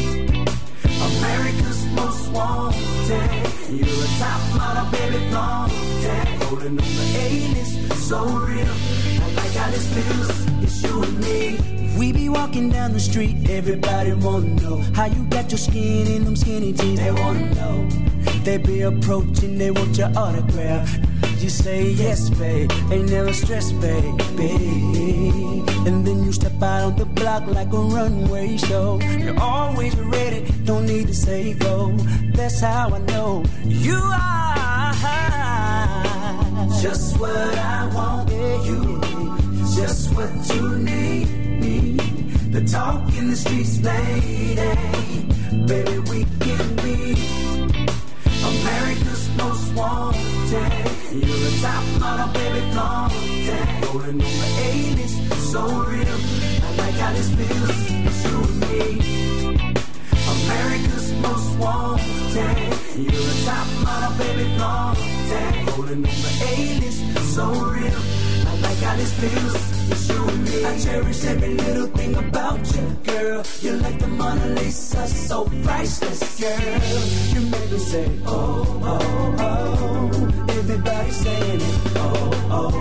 America's most wanted. You're a top model, baby, flaunted. Holding on the A-list, so real. I like how this feels, it's you and me. We be walking down the street, everybody wanna know how you got your skin in them skinny jeans. They wanna know. They be approaching, they want your autograph. You say yes, babe, ain't never stress, baby. And then you step out on the block like a runway show. You're always ready, don't need to say go. That's how I know you are just what I want. You, just what you need. Me, the talk in the streets, lady. Baby, we can be America's most wanted. You're a top model, baby, flaunted. Rolling on the A-list, so real. I like how this feels, it's you and me. America's most wanted. You're a top model, baby, flaunted. Rolling on the A-list, so real. I like how this feels, it's you and me. I cherish every little thing about you, girl. You're like the Mona Lisa, so priceless, girl. You make me say, oh, oh, oh. Everybody saying it, oh, oh,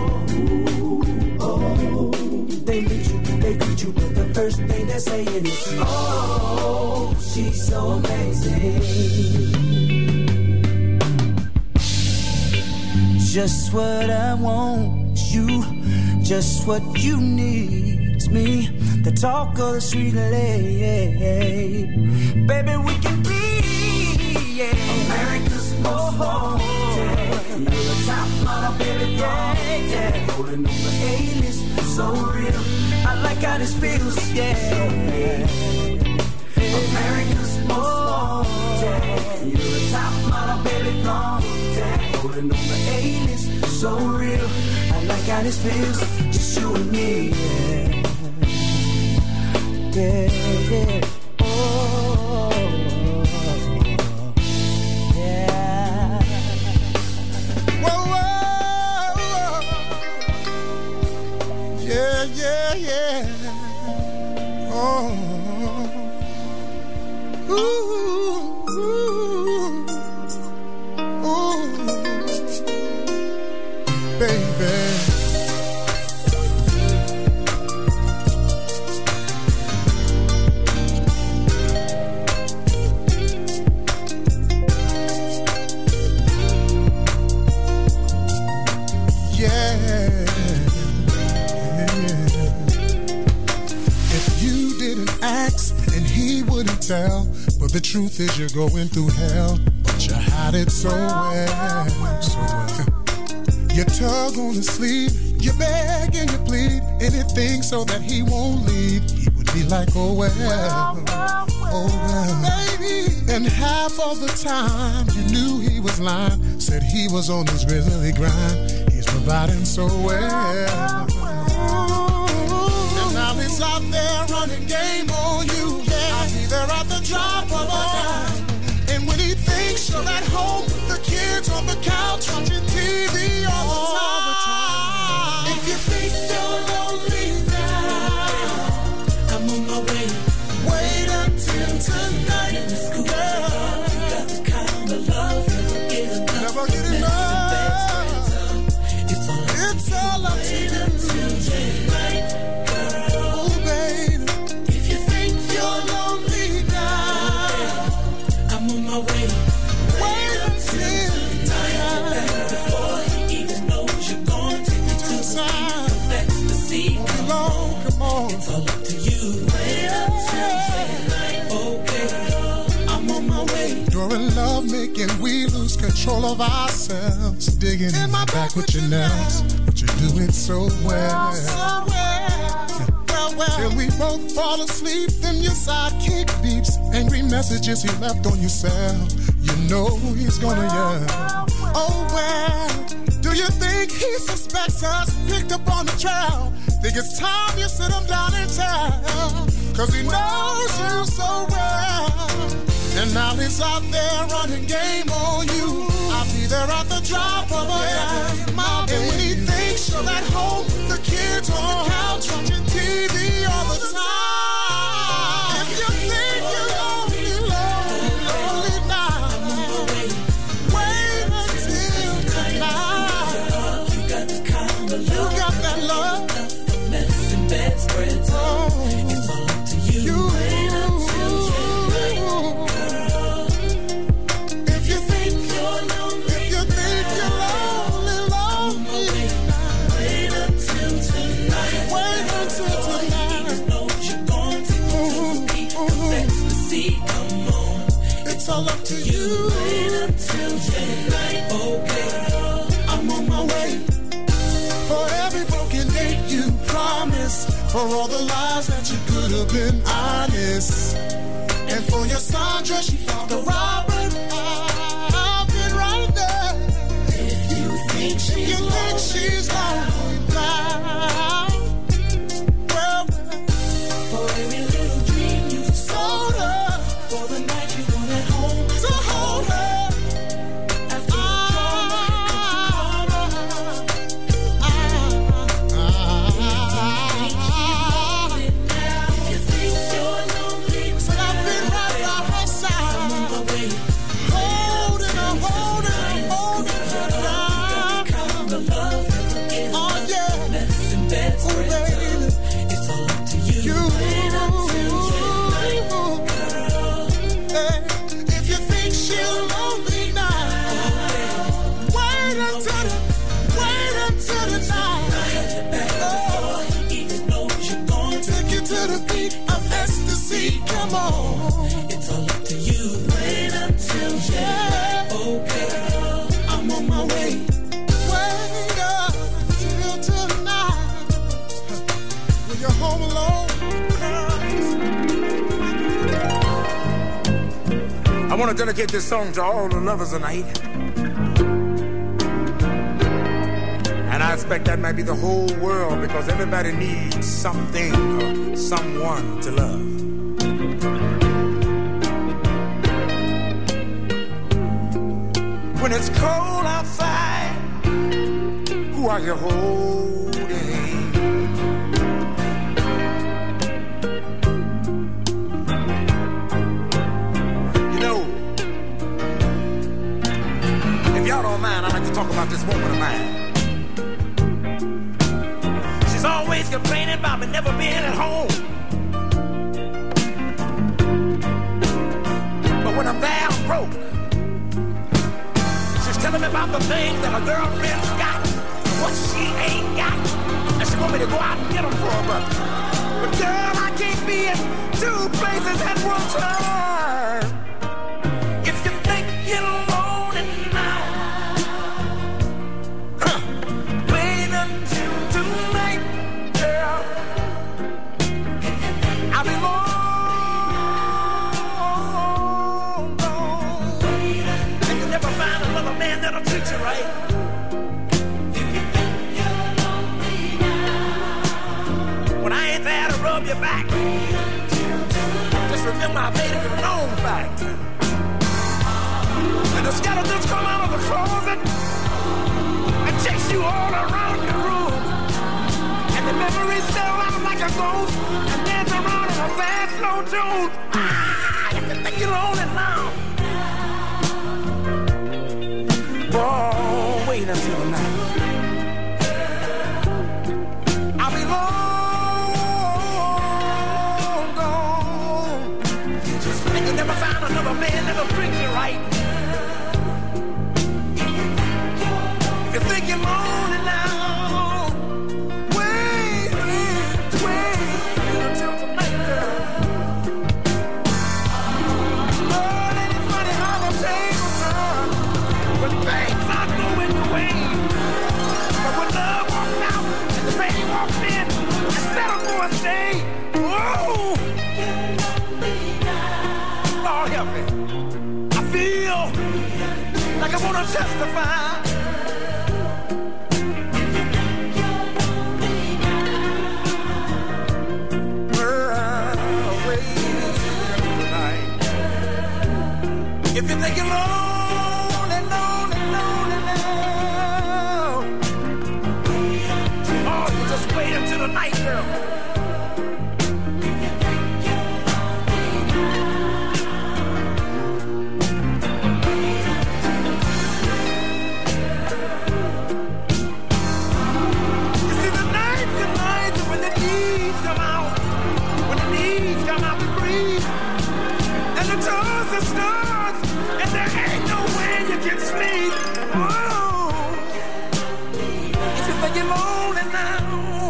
oh. They meet you, they greet you, but the first thing they're saying is, oh, she's so amazing. Just what I want, you, just what you need. It's me, the talk of the street, lady. Baby, we can be, yeah, America's most wanted. You're a top model, baby, yeah, yeah. Rolling on the A-list, so real. I like how this feels, yeah. America's most wanted. You're a top model, baby, flaunted. Rolling on the A-list, so real. I like how this feels, just you and me, yeah. Yeah, yeah. Oh, yeah. Whoa, whoa, whoa. Yeah, yeah, yeah. Oh. Ooh, ooh, ooh, baby. Tell, but the truth is you're going through hell, but you hide it so well. So well. You tug on his sleeve, you beg and you plead, anything so that he won't leave. He would be like, oh well, oh well, baby. And half of the time you knew he was lying, said he was on his grizzly grind. He's providing so well, and now he's out there running game on you. They're at the drop of a dime. And when he thinks you're at home, the kids on the couch watching T V all the time. If you think you're lonely now, I'm on my way. Wait until tonight, girl. You got the kind of love never get enough. Never get enough. It's all, it's all up to you. Tonight, girl. Oh, baby. If you think you're lonely, my way. Wait until tonight before he even knows you're gone. Take you to the ecstasy. Come on, come on. It's all up to you. Wait until tonight, okay. I'm on my way. During love making, we lose control of ourselves. Digging in my back with your nails, but you do it so well. So well. Well, till we both fall asleep, then your sidekick beeps. Angry messages he left on your cell. You know he's gonna yell. Oh well, do you think he suspects us? Picked up on the trail. Think it's time you sit him down and tell. Cause he knows you so well. And now he's out there running game on you. I'll be there at the drop of a dime. And when he thinks you're at home, the kids on the couch watching T V all the time. If you think you're lonely, lonely, lonely now, wait until tonight. You got the kind of love, you got that love, the mess and bad spreads. Oh, it's all up to you. you wait until tonight, girl. If you think you're lonely, if you think you're lonely. For all the lies that you could have been honest. And for your Sandra, she found the Robert. I've been right there. If you think she's you think she's lonely now. Well, for every little dream you sold her. For the night you wanted home to hold her. Come on, it's all up to you. Wait until yeah. Oh girl, I'm on my way. Wait up till tonight. When you're home alone. I want to dedicate this song to all the lovers tonight. And I expect that might be the whole world, because everybody needs something or someone to love. When it's cold outside, who are you holding? You know, if y'all don't mind, I'd like to talk about this woman of mine. She's always complaining about me never being at home. But when I'm there, I'm broke. Telling me about the things that her girlfriend's got and what she ain't got. And she want me to go out and get them for her, but, but girl, I can't be in two places at one time. If you think you're lonely now, huh, wait until tonight, girl. I'll be long. Man that'll treat you right. If you think you're lonely now, when I ain't there to rub your back, just remember I made it a known fact. And the skeletons come out of the closet and chase you all around your room. And the memories sell out like a ghost and dance around in a fast, slow tune. Ah, if you think you're lonely now, oh, wait until tonight. I'll be long gone. And you never find another man that'll treat you right. If you think you're lonely now, wait, wait, wait until tonight, girl. Lord, ain't it funny how the tables turn when things are going the way? But when love walks out and the pain walks in and settle for a stay, whoa! Lord help me. I feel like I want to testify. If you think you're lonely, lonely, lonely now, oh, you just wait until the night, girl. You see, the nights and nights when the needs come out, when the needs come out to breathe, and the tours and stars, and there ain't no way you can sleep. Oh, if you think you're lonely now,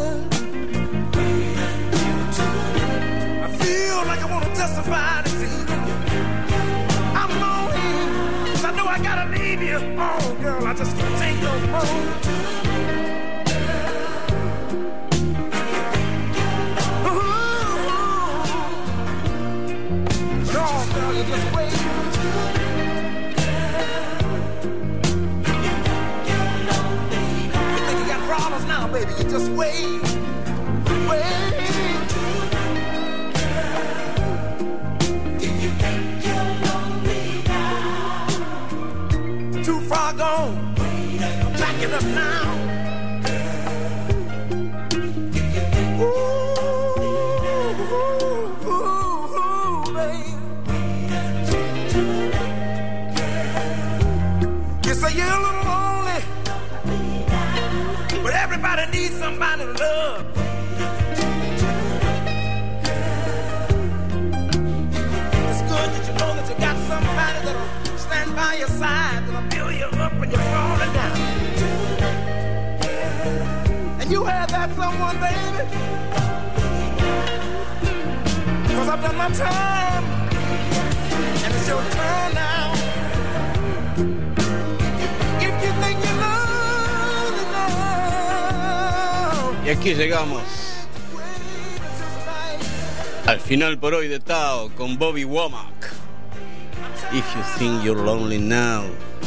I feel like I want to testify this evening. I'm lonely, 'cause I know I gotta leave you. Oh, girl, I just can't take no more. dollars now, baby. You just wait, wait. If you think you're lonely now, too far gone, back it up now. Ooh, ooh, ooh, baby. You say you're a little lonely, but everybody needs somebody to love. It's good that you know that you got somebody that'll stand by your side, that'll build you up when you're falling down. And you have that someone, baby. Cause I've done my time, and it's your turn now. If you think you're lonely now. Y aquí llegamos al final por hoy de Tao con Bobby Womack. If you think you're lonely now.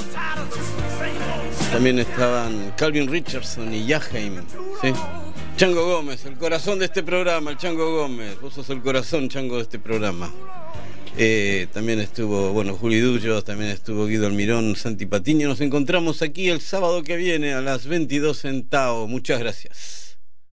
También estaban Calvin Richardson y Jaheim, ¿sí? Chango Gómez, el corazón de este programa, el Chango Gómez. Vos sos el corazón, Chango, de este programa. Eh, también estuvo, bueno, Juli Dullo, también estuvo Guido Almirón, Santi Patiño. Nos encontramos aquí el sábado que viene a las veintidós en Tao. Muchas gracias.